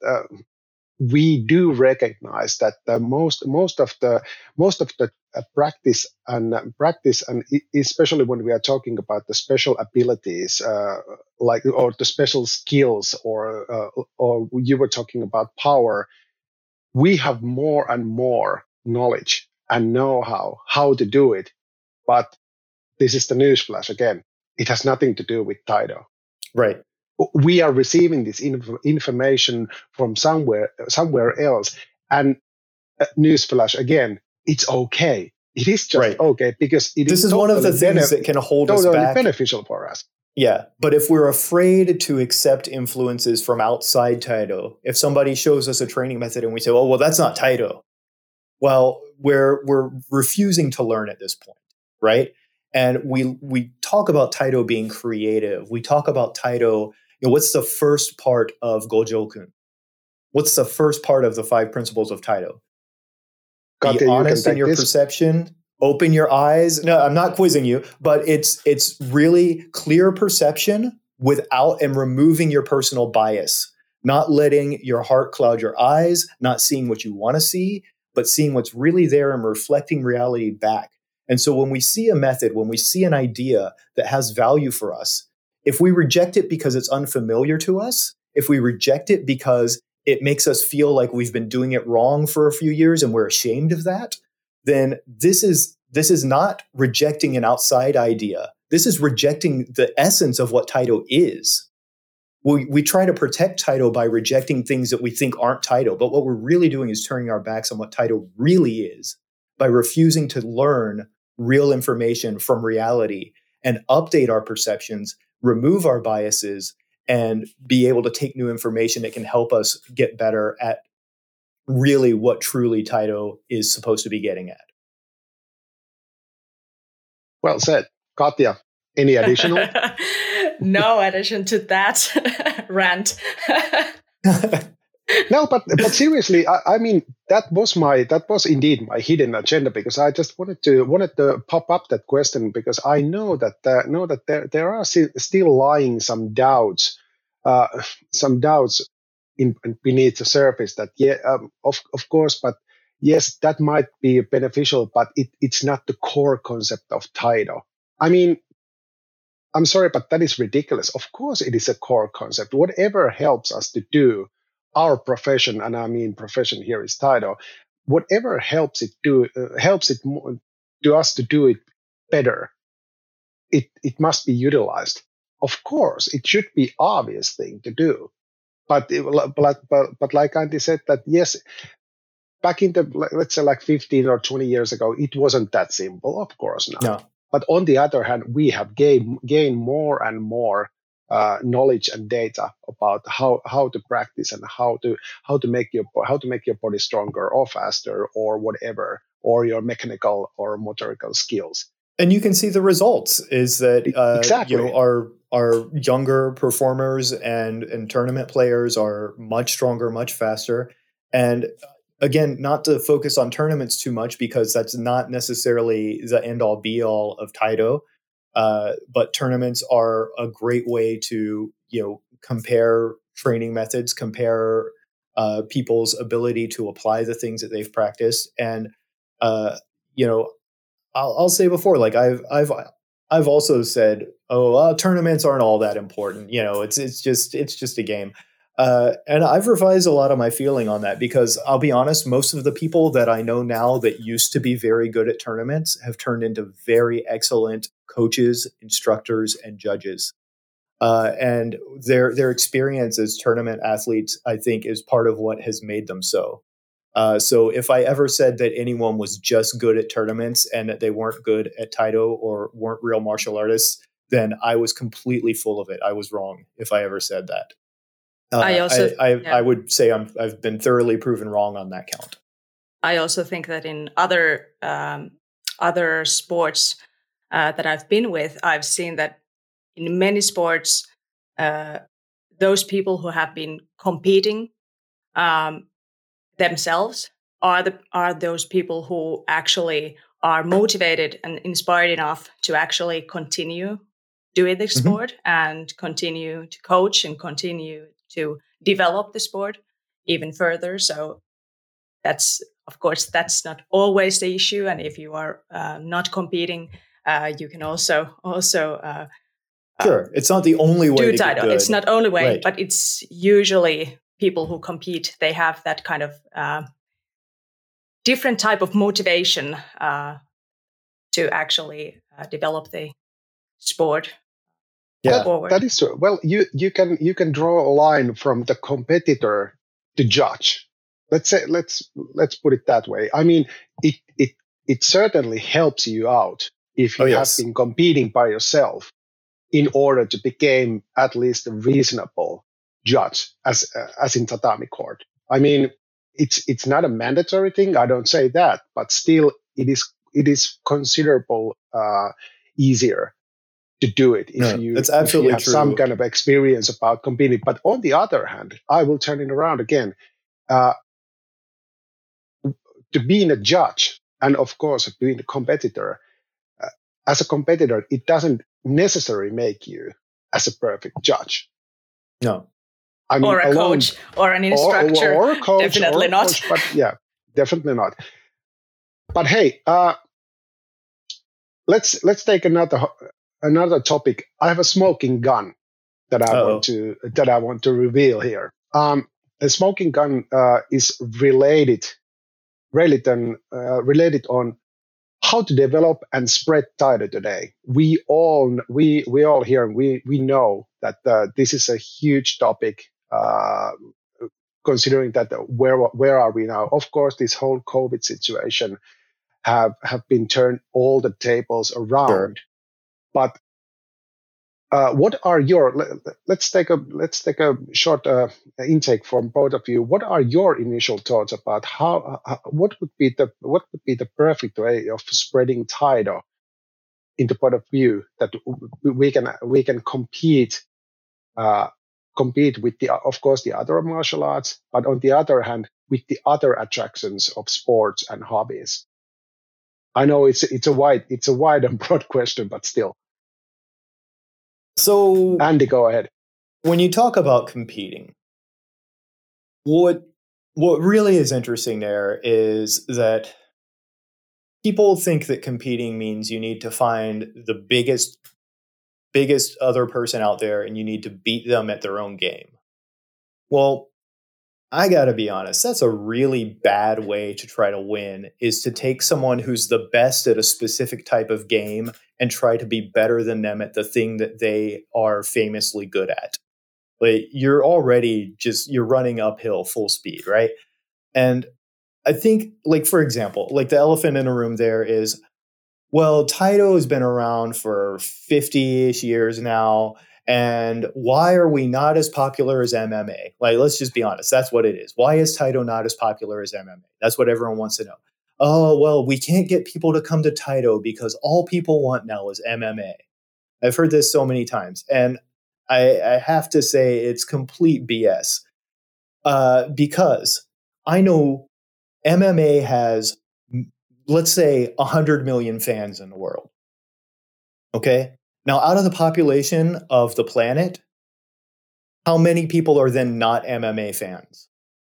we do recognize that most of the practice and especially when we are talking about the special abilities, or the special skills, or you were talking about power, we have more and more knowledge and know how to do it. But this is the newsflash again. It has nothing to do with Taido. Right. We are receiving this information from somewhere else. And newsflash again, it's okay. It is just okay because this is one of the things that can hold us back. Beneficial for us. Yeah, but if we're afraid to accept influences from outside Taido, if somebody shows us a training method and we say, "Oh, well, that's not Taido," well, we're refusing to learn at this point, right? And we talk about Taido being creative. We talk about Taido. What's the first part of Gojoku? What's the first part of the 5 principles of Taido? Be honest in your perception. Open your eyes. No, I'm not quizzing you, but it's really clear perception without and removing your personal bias, not letting your heart cloud your eyes, not seeing what you want to see, but seeing what's really there and reflecting reality back. And so when we see a method, when we see an idea that has value for us, if we reject it because it's unfamiliar to us, if we reject it because it makes us feel like we've been doing it wrong for a few years and we're ashamed of that, then this is not rejecting an outside idea. This is rejecting the essence of what Taido is. We try to protect Taido by rejecting things that we think aren't Taido, but what we're really doing is turning our backs on what Taido really is by refusing to learn real information from reality and update our perceptions, remove our biases, and be able to take new information that can help us get better at really what truly Taido is supposed to be getting at. Well said. Katja, any additional? No addition to that rant. No, but seriously, I mean that was indeed my hidden agenda, because I just wanted to pop up that question, because I know that there are still lying some doubts beneath the surface that of course, but yes, that might be beneficial, but it's not the core concept of Taido. I mean, I'm sorry, but that is ridiculous. Of course, it is a core concept. Whatever helps us to do our profession, and I mean profession here is Taido, whatever helps it to us to do it better, it must be utilized. Of course, it should be obvious thing to do, but like Antti said, that yes, back in the, let's say like 15 or 20 years ago, it wasn't that simple. Of course not. No. But on the other hand, we have gained more and more knowledge and data about how to practice and how to make your body stronger or faster or whatever, or your mechanical or motorical skills. And you can see the results is that exactly. Our younger performers and tournament players are much stronger, much faster. And again, not to focus on tournaments too much, because that's not necessarily the end-all be-all of Taido. But tournaments are a great way to, compare training methods, compare people's ability to apply the things that they've practiced. And, I'll say before, like I've also said, tournaments aren't all that important. It's just a game. And I've revised a lot of my feeling on that, because I'll be honest, most of the people that I know now that used to be very good at tournaments have turned into very excellent coaches, instructors, and judges. And their experience as tournament athletes, I think, is part of what has made them so. So if I ever said that anyone was just good at tournaments and that they weren't good at Taido or weren't real martial artists, then I was completely full of it. I was wrong if I ever said that. I would say I've been thoroughly proven wrong on that count. I also think that in other sports that I've been with, I've seen that in many sports, those people who have been competing themselves are those people who actually are motivated and inspired enough to actually continue doing the sport and continue to coach and continue to develop the sport even further. So that's not always the issue. And if you are not competing, you can also sure, it's not the only way to get good. It's not the only way, right. But it's usually people who compete. They have that kind of different type of motivation to actually develop the sport. Yeah, forward. that is true. Well, you can draw a line from the competitor to judge. Let's put it that way. I mean, it certainly helps you out if you have been competing by yourself in order to become at least a reasonable judge as in tatami court. I mean, it's not a mandatory thing. I don't say that, but still, it is considerable easier to do it if you have true. some kind of experience about competing. But on the other hand, I will turn it around again. To being a judge and of course being a competitor, as a competitor, it doesn't necessarily make you as a perfect judge. No. I mean, or a coach or an instructor. Or a coach. Definitely not. Coach, but yeah, definitely not. But hey, let's take another topic. I have a smoking gun that I want to reveal here. A smoking gun is related on how to develop and spread Taido today. We all here we know that this is a huge topic. Considering that where are we now? Of course, this whole COVID situation have been turned all the tables around. Sure. But what are your? Let's take a short intake from both of you. What are your initial thoughts about what would be the perfect way of spreading Taido in the point of view that we can compete with of course the other martial arts, but on the other hand with the other attractions of sports and hobbies. I know it's a wide and broad question, but still. So, Andy, go ahead. When you talk about competing, what really is interesting there is that people think that competing means you need to find the biggest other person out there and you need to beat them at their own game. Well, I gotta be honest, that's a really bad way to try to win, is to take someone who's the best at a specific type of game and try to be better than them at the thing that they are famously good at. Like, you're running uphill full speed, right? And I think, like, for example, like the elephant in the room there is, well, Taido has been around for 50-ish years now. And why are we not as popular as MMA? Like, let's just be honest. That's what it is. Why is Taido not as popular as MMA? That's what everyone wants to know. Oh, well, we can't get people to come to Taido because all people want now is MMA. I've heard this so many times. And I have to say it's complete BS. Because I know MMA has, let's say, 100 million fans in the world. Okay? Now, out of the population of the planet, how many people are then not MMA fans?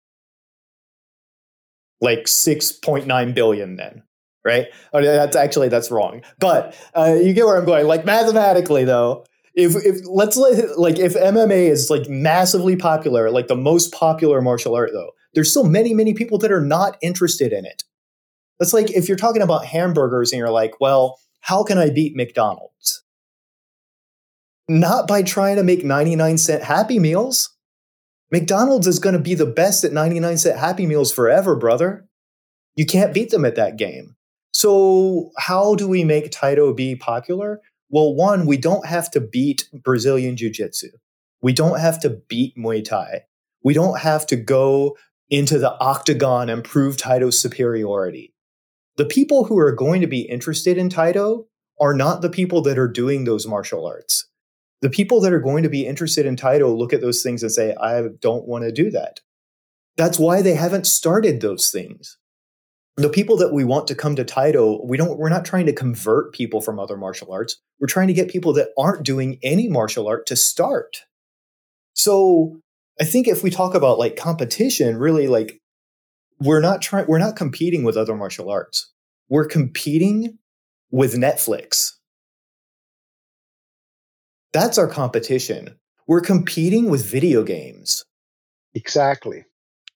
Like 6.9 billion then, right? Oh, that's wrong. But you get where I'm going. Like, mathematically, though, if MMA is like massively popular, like the most popular martial art, though, there's still many, many people that are not interested in it. That's like if you're talking about hamburgers and you're like, well, how can I beat McDonald's? Not by trying to make 99-cent Happy Meals. McDonald's is going to be the best at 99-cent Happy Meals forever, brother. You can't beat them at that game. So how do we make Taido be popular? Well, one, we don't have to beat Brazilian Jiu-Jitsu. We don't have to beat Muay Thai. We don't have to go into the octagon and prove Taido's superiority. The people who are going to be interested in Taido are not the people that are doing those martial arts. The people that are going to be interested in Taido look at those things and say, I don't want to do that. That's why they haven't started those things. The people that we want to come to Taido, we're not trying to convert people from other martial arts. We're trying to get people that aren't doing any martial art to start. So I think if we talk about like competition, really, like, we're not competing with other martial arts. We're competing with Netflix. That's our competition. We're competing with video games. Exactly.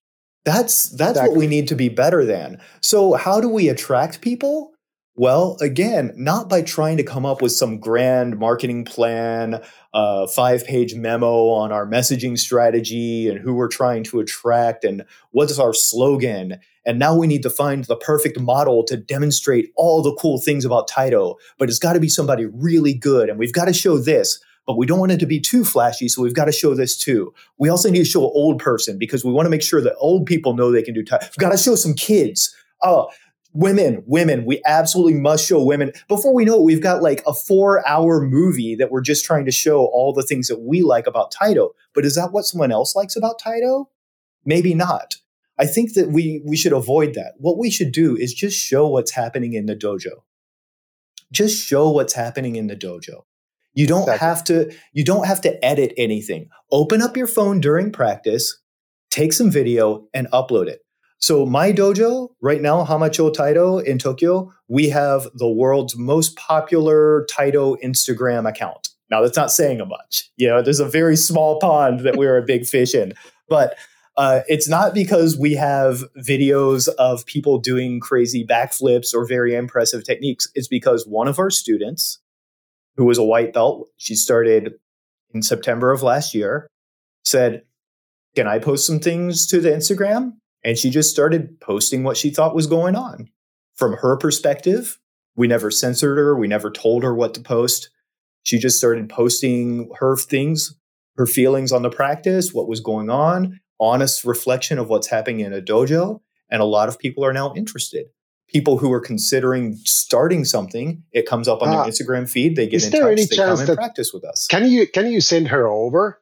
That's Exactly. what we need to be better than. So how do we attract people? Well, again, not by trying to come up with some grand marketing plan, 5-page memo on our messaging strategy and who we're trying to attract and what's our slogan. And now we need to find the perfect model to demonstrate all the cool things about Taito. But it's got to be somebody really good. And we've got to show this, but we don't want it to be too flashy. So we've got to show this too. We also need to show an old person because we want to make sure that old people know they can do Taito. We've got to show some kids. Women, we absolutely must show women. Before we know it, we've got like a 4-hour movie that we're just trying to show all the things that we like about Taito. But is that what someone else likes about Taito? Maybe not. I think that we should avoid that. What we should do is just show what's happening in the dojo. Just show what's happening in the dojo. You don't have to edit anything. Open up your phone during practice, take some video and upload it. So my dojo right now, Hamacho Taito in Tokyo, we have the world's most popular Taito Instagram account. Now that's not saying much. There's a very small pond that we're a big fish in, but it's not because we have videos of people doing crazy backflips or very impressive techniques. It's because one of our students, who was a white belt, she started in September of last year, said, "Can I post some things to the Instagram?" And she just started posting what she thought was going on. From her perspective, we never censored her. We never told her what to post. She just started posting her things, her feelings on the practice, what was going on, honest reflection of what's happening in a dojo. And a lot of people are now interested. People who are considering starting something, it comes up on their Instagram feed. They get in touch. They come and practice with us. Can you send her over?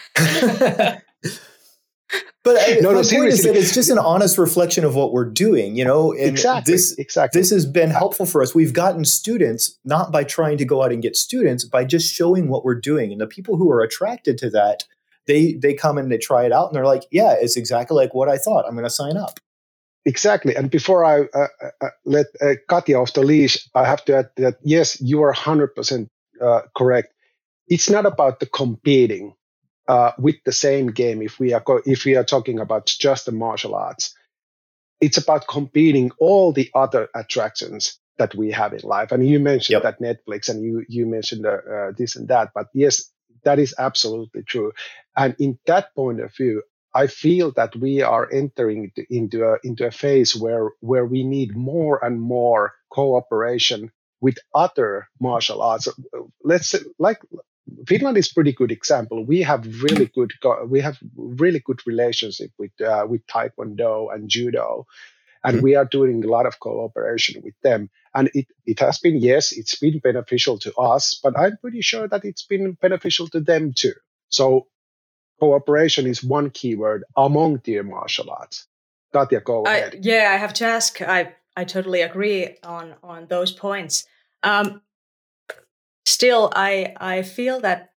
But my point is that it's just an honest reflection of what we're doing, and exactly. This has been helpful for us. We've gotten students, not by trying to go out and get students, by just showing what we're doing. And the people who are attracted to that, they come and they try it out and they're like, yeah, it's exactly like what I thought. I'm going to sign up. Exactly. And before I let Katja off the leash, I have to add that, yes, you are 100% correct. It's not about the competing with the same game. If we are talking about just the martial arts, it's about competing all the other attractions that we have in life. And you mentioned that Netflix, and you mentioned this and that. But yes, that is absolutely true. And in that point of view, I feel that we are entering into a phase where we need more and more cooperation with other martial arts. Let's say, like, Finland is a pretty good example. We have really good relationship with Taekwondo and Judo, and we are doing a lot of cooperation with them. And it has been, yes, it's been beneficial to us, but I'm pretty sure that it's been beneficial to them too. So cooperation is one keyword among the martial arts. Katja, go ahead. Yeah, I have to ask. I totally agree on those points. Still, I feel that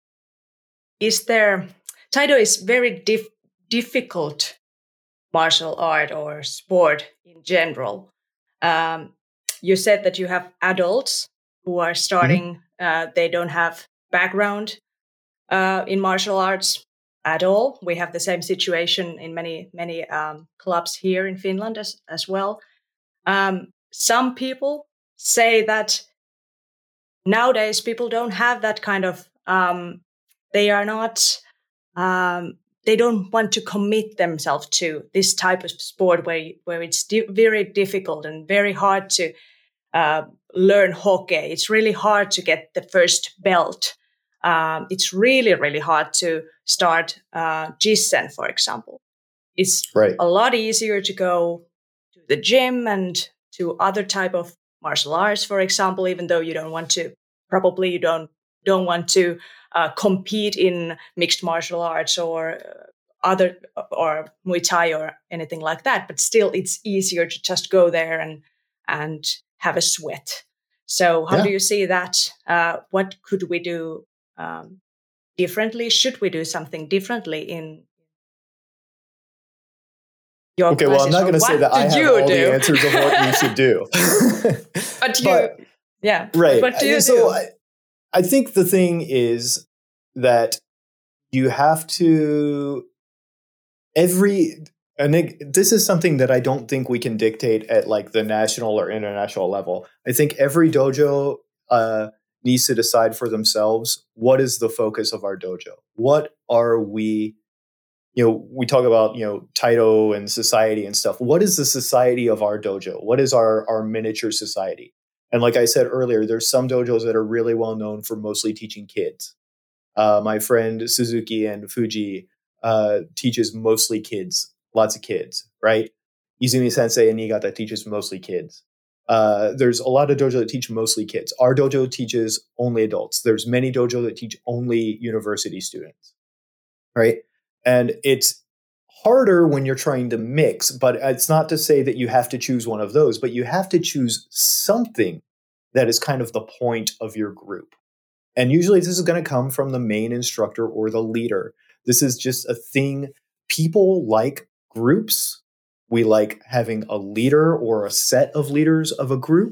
Taito is very difficult martial art or sport in general. You said that you have adults who are starting. They don't have background in martial arts at all. We have the same situation in many clubs here in Finland as well. Some people say that nowadays people don't have that kind of. They are not. They don't want to commit themselves to this type of sport where it's very difficult and very hard to learn hockey. It's really hard to get the first belt. It's really, really hard to start Jissen, for example. It's a lot easier to go to the gym and to other type of martial arts, for example, even though you don't want to. Probably you don't want to compete in mixed martial arts or other or Muay Thai or anything like that. But still, it's easier to just go there and have a sweat. So how do you see that? What could we do differently? Should we do something differently in your classes? Well, I'm not going to say that I have all the answers of what you should do. Right. What do you do? I think the thing is that you have to And this is something that I don't think we can dictate at like the national or international level. I think every dojo needs to decide for themselves, what is the focus of our dojo? What are we, we talk about, Taito and society and stuff. What is the society of our dojo? What is our miniature society? And like I said earlier, there's some dojos that are really well known for mostly teaching kids. My friend Suzuki and Fuji teaches mostly kids. Lots of kids, right? Izumi Sensei and Niigata teaches mostly kids. There's a lot of dojo that teach mostly kids. Our dojo teaches only adults. There's many dojo that teach only university students, right? And it's harder when you're trying to mix, but it's not to say that you have to choose one of those, but you have to choose something that is kind of the point of your group. And usually this is going to come from the main instructor or the leader. This is just a thing. People like groups. We like having a leader or a set of leaders of a group.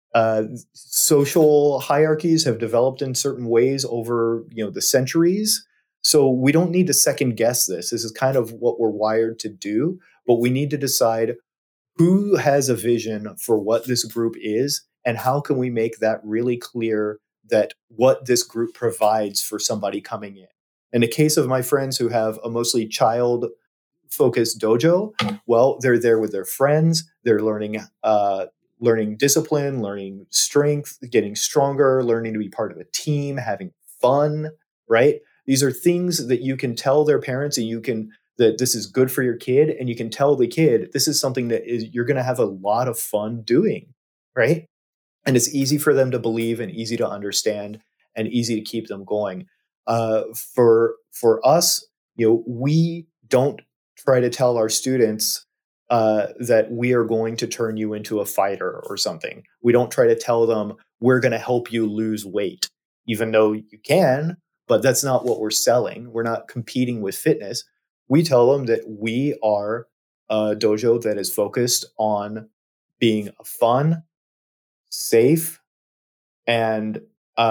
Social hierarchies have developed in certain ways over the centuries. So we don't need to second guess this. This is kind of what we're wired to do. But we need to decide who has a vision for what this group is and how can we make that really clear that what this group provides for somebody coming in. In the case of my friends who have a mostly child-focused dojo, well, they're there with their friends. They're learning discipline, learning strength, getting stronger, learning to be part of a team, having fun, right? These are things that you can tell their parents and that this is good for your kid. And you can tell the kid, this is something that you're going to have a lot of fun doing, right? And it's easy for them to believe and easy to understand and easy to keep them going. For us, we don't try to tell our students that we are going to turn you into a fighter or something. We don't try to tell them we're going to help you lose weight, even though you can, but that's not what we're selling. We're not competing with fitness. We tell them that we are a dojo that is focused on being fun, safe, and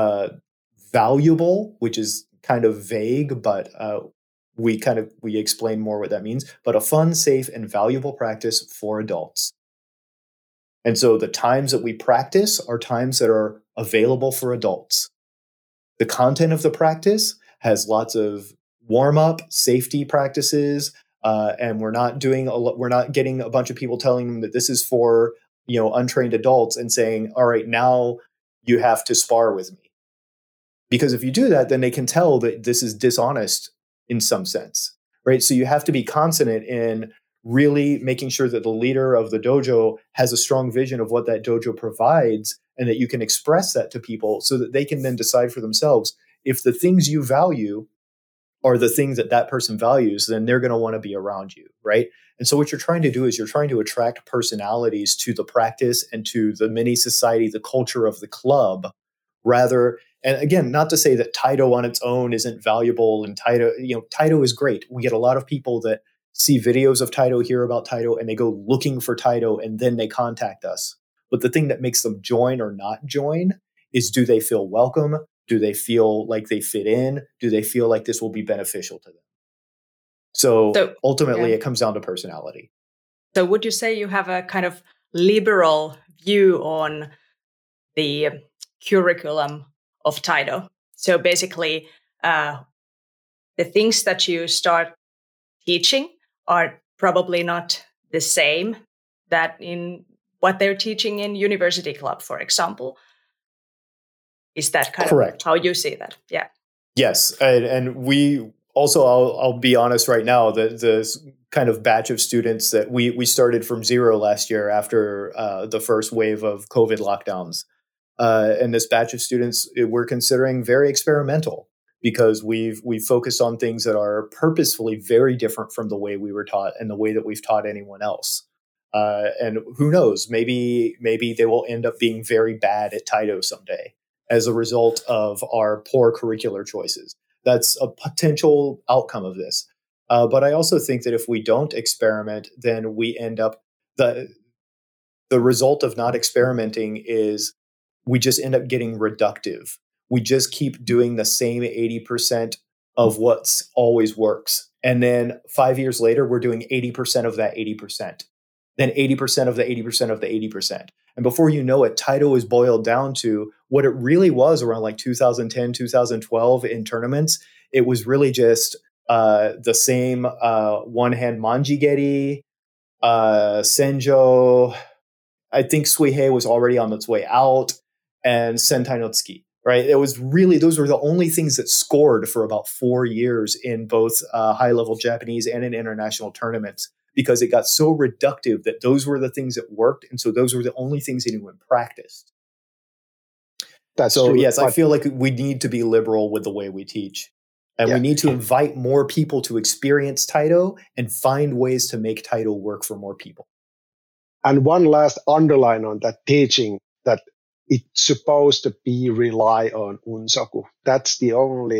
valuable, which is kind of vague, but we explain more what that means, but a fun, safe, and valuable practice for adults. And so the times that we practice are times that are available for adults. The content of the practice has lots of warm-up, safety practices, and we're not getting a bunch of people telling them that this is for untrained adults and saying, all right, now you have to spar with me. Because if you do that, then they can tell that this is dishonest in some sense, right? So you have to be consonant in really making sure that the leader of the dojo has a strong vision of what that dojo provides and that you can express that to people so that they can then decide for themselves if the things you value are the things that person values, then they're going to want to be around you, right? And so what you're trying to do is you're trying to attract personalities to the practice and to the mini society, the culture of the club, rather. And again, not to say that Taito on its own isn't valuable, and Taito is great. We get a lot of people that see videos of Taito, hear about Taito, and they go looking for Taito, and then they contact us. But the thing that makes them join or not join is, do they feel welcome? Do they feel like they fit in? Do they feel like this will be beneficial to them? So ultimately, it comes down to personality. So would you say you have a kind of liberal view on the curriculum of Taito? So basically, the things that you start teaching are probably not the same that in what they're teaching in University Club, for example. Is that kind Correct. of how you see that? Yeah. Yes. And we also, I'll be honest right now, that this kind of batch of students that we started from zero last year after the first wave of COVID lockdowns. And this batch of students, we're considering very experimental because we've focused on things that are purposefully very different from the way we were taught and the way that we've taught anyone else. And who knows, maybe they will end up being very bad at Taito someday as a result of our poor curricular choices. That's a potential outcome of this. But I also think that if we don't experiment, then we end up, the result of not experimenting is we just end up getting reductive. We just keep doing the same 80% of what's always works. And then 5 years later, we're doing 80% of that 80%, then 80% of the 80% of the 80%. And before you know it, Taito is boiled down to what it really was around like 2010, 2012 in tournaments. It was really just the same one-hand manjigeri, Senjo. I think Suihei was already on its way out, and Sentai no Tsuki, right? It was really, those were the only things that scored for about 4 years in both high-level Japanese and in international tournaments, because it got so reductive that those were the things that worked. And so those were the only things anyone practiced. That's so, true, yes, I feel like we need to be liberal with the way we teach. And we need to invite more people to experience Taito and find ways to make Taito work for more people. And one last underline on that teaching, that it's supposed to be rely on unsoku. That's the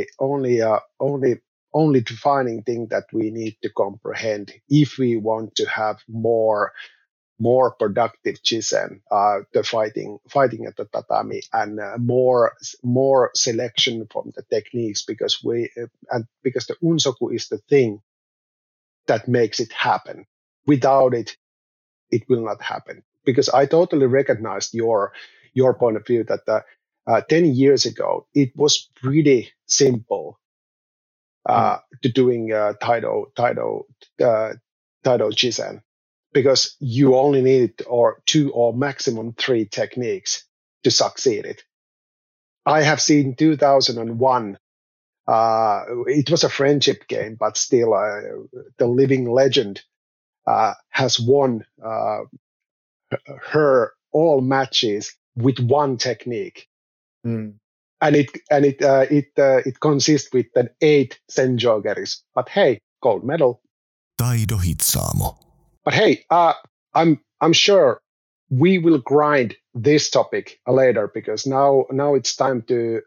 only defining thing that we need to comprehend if we want to have more productive Chisen, the fighting at the tatami, and more selection from the techniques, because because the unsoku is the thing that makes it happen. Without it, it will not happen. Because I totally recognized your point of view that 10 years ago it was pretty simple to doing Taito Chisen, because you only needed two or maximum three techniques to succeed it. I have seen 2001. It was a friendship game, but still, the living legend has won her all matches with one technique, and it consists with an 8 senjogeris. But hey, gold medal. Taido Hitsaamo. But hey, I'm sure we will grind this topic later, because now it's time to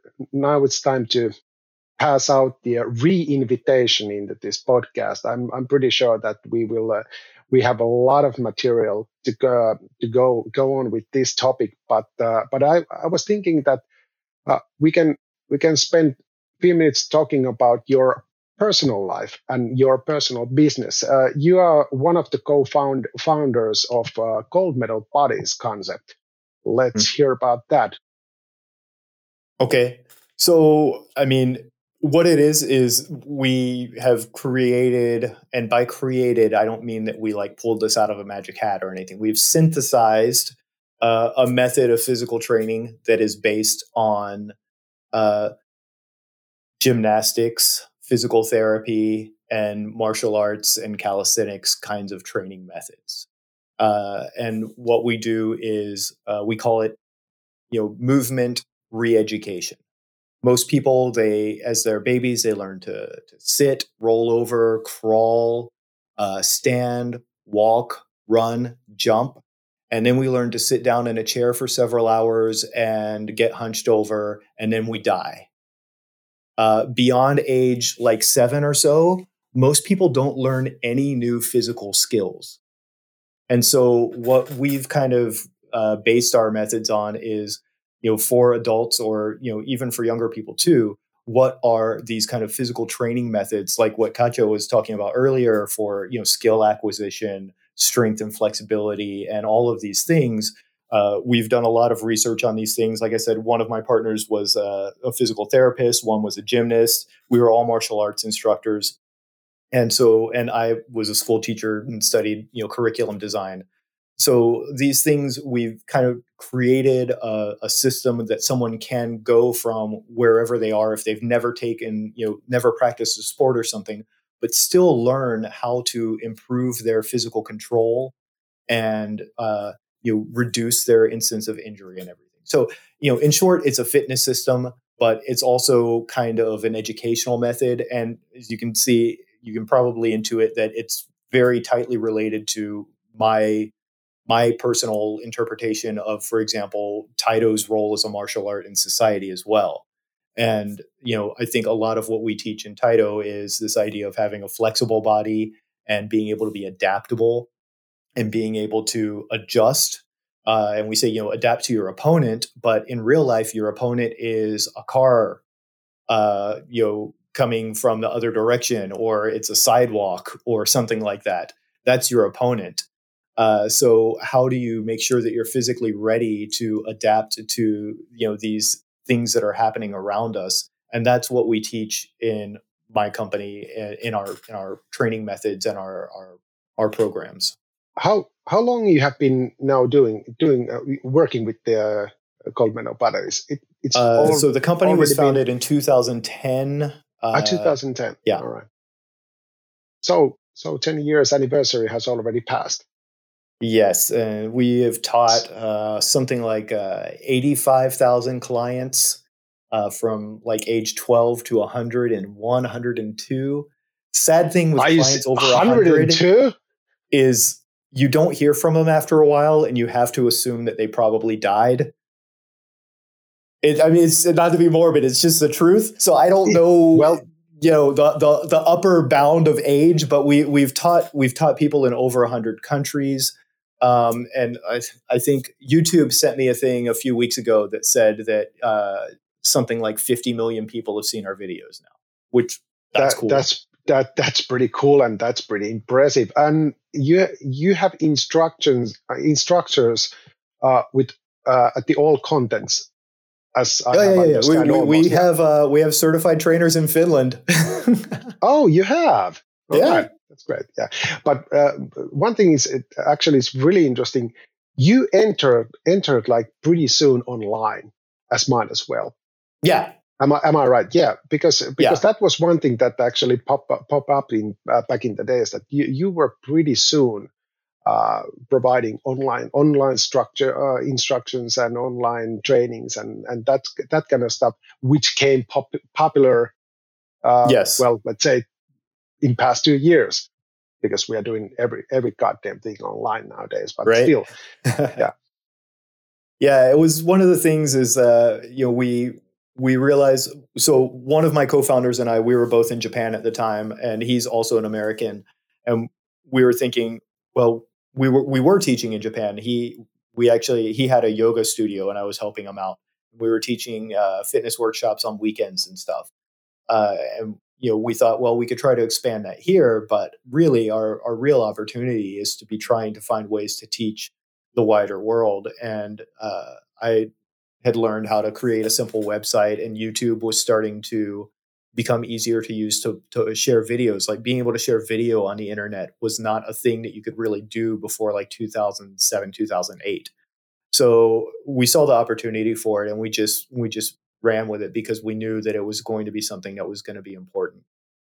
pass out the re-invitation into this podcast. I'm pretty sure that we have a lot of material to go on with this topic. But I was thinking that we can spend a few minutes talking about your personal life and your personal business. You are one of the co-founders of Gold Medal Buddies concept. Let's hear about that. Okay. So, I mean, what it is we have created, and by created, I don't mean that we like pulled this out of a magic hat or anything. We've synthesized a method of physical training that is based on gymnastics, physical therapy, and martial arts and calisthenics kinds of training methods. And what we do is we call it, movement re-education. Most people, as they're babies, they learn to sit, roll over, crawl, stand, walk, run, jump. And then we learn to sit down in a chair for several hours and get hunched over, and then we die. Beyond age like 7 or so, most people don't learn any new physical skills. And so what we've kind of based our methods on is, for adults, or, even for younger people too, what are these kind of physical training methods, like what Katja was talking about earlier, for, skill acquisition, strength and flexibility, and all of these things. We've done a lot of research on these things. Like I said, one of my partners was a physical therapist. One was a gymnast. We were all martial arts instructors. And I was a school teacher and studied, curriculum design. So these things, we've kind of created a system that someone can go from wherever they are, if they've never taken, never practiced a sport or something, but still learn how to improve their physical control and, reduce their instance of injury and everything. So, in short, it's a fitness system, but it's also kind of an educational method. And as you can see, you can probably intuit that it's very tightly related to my personal interpretation of, for example, Taito's role as a martial art in society as well. And, I think a lot of what we teach in Taito is this idea of having a flexible body and being able to be adaptable and being able to adjust. And we say, adapt to your opponent, but in real life, your opponent is a car, coming from the other direction, or it's a sidewalk or something like that. That's your opponent. So how do you make sure that you're physically ready to adapt to these things that are happening around us? And that's what we teach in my company, in our training methods and our programs. How long you have been now working with the Goldman batteries? So the company was founded in 2010. 2010. Yeah. All right. So 10 years anniversary has already passed. Yes, and we have taught something like 85,000 clients from like age 12 to 101, 102. Sad thing with clients over 100 is you don't hear from them after a while, and you have to assume that they probably died. It's not to be morbid; it's just the truth. So I don't know. Well, the upper bound of age, but we've taught people in over 100 countries. And I think YouTube sent me a thing a few weeks ago that said that something like 50 million people have seen our videos now, which that's cool. That's pretty cool, and that's pretty impressive. And you have instructors with at the all contents. As I understand, we have certified trainers in Finland. Oh, you have? Yeah. Right. That's great. Yeah. But one thing is, it's really interesting. You entered like pretty soon online as mine as well. Yeah. Am I right? Yeah. Because that was one thing that actually pop up in back in the days, that you were pretty soon providing online structure instructions and online trainings and that kind of stuff, which came popular. Yes. Well, let's say in past 2 years, because we are doing every goddamn thing online nowadays. But right? Still, yeah. Yeah, it was one of the things is we realized. So one of my co-founders and I, we were both in Japan at the time, and he's also an American, and we were thinking, well, we were teaching in Japan. He had a yoga studio, and I was helping him out. We were teaching fitness workshops on weekends and stuff. And we thought, well, we could try to expand that here, but really our real opportunity is to be trying to find ways to teach the wider world. And I had learned how to create a simple website, and YouTube was starting to become easier to use to share videos. Like being able to share video on the internet was not a thing that you could really do before like 2007, 2008. So we saw the opportunity for it, and we just ran with it because we knew that it was going to be something that was going to be important.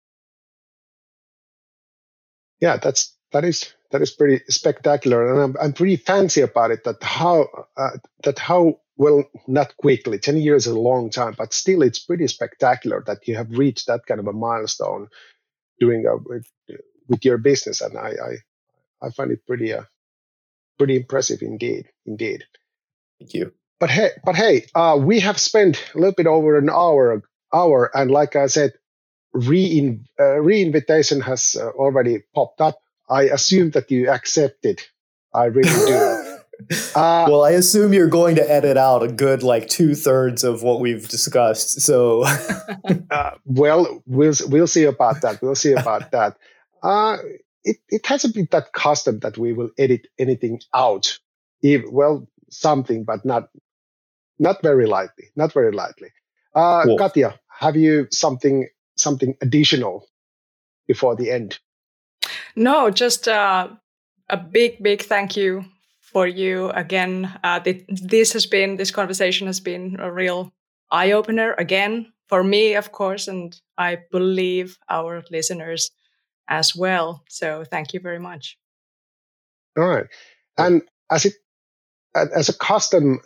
Yeah, that is pretty spectacular, and I'm pretty fancy about it. That how well, not quickly. 10 years is a long time, but still, it's pretty spectacular that you have reached that kind of a milestone doing with your business, and I find it pretty impressive indeed. Thank you. But hey, we have spent a little bit over an hour, and like I said, re-invitation has already popped up. I assume that you accepted. I really do. Well, I assume you're going to edit out a good like 2/3 of what we've discussed. So, well, we'll see about that. We'll see about that. It hasn't been that custom that we will edit anything out. Something, but not very lightly. Not very lightly. Cool. Katja, have you something additional before the end? No, just a big thank you for you again. This conversation has been a real eye opener again for me, of course, and I believe our listeners as well. So thank you very much. All right, and as a custom,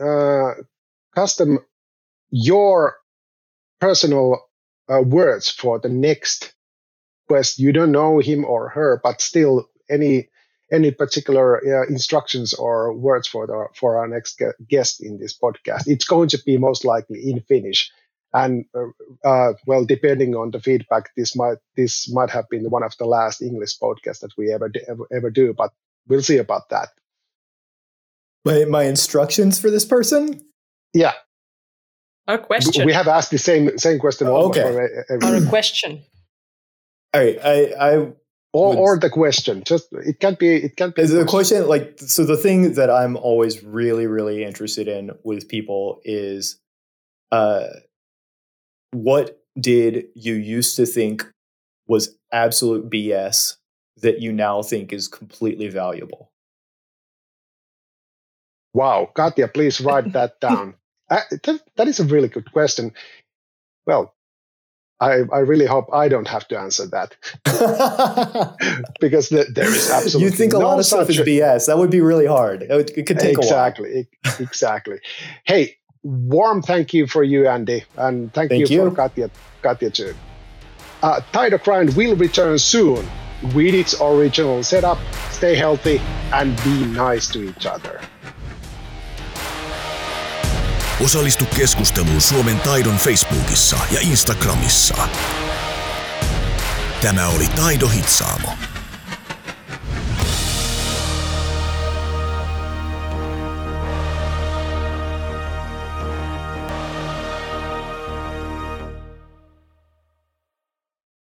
your personal words for the next quest. You don't know him or her, but still, any particular instructions or words for our next guest in this podcast? It's going to be most likely in Finnish, and well, depending on the feedback, this might have been one of the last English podcasts that we ever do, but we'll see about that. My instructions for this person? Yeah. Or question. We have asked the same question. Okay. Or a question. All right. Or the question. Just it can't be. The question, like, so the thing that I'm always really, really interested in with people is, what did you used to think was absolute BS that you now think is completely valuable? Wow, Katja, please write that down. That is a really good question. Well, I really hope I don't have to answer that. Because there is absolutely you think a lot of stuff is BS. That would be really hard. It could take a while. Exactly. Hey, warm thank you for you, Andy. And thank you for Katja too. Tide of Grind will return soon with its original setup. Stay healthy and be nice to each other. Osallistu keskusteluun Suomen Taidon Facebookissa ja Instagramissa. Tämä oli Taido Hitsaamo.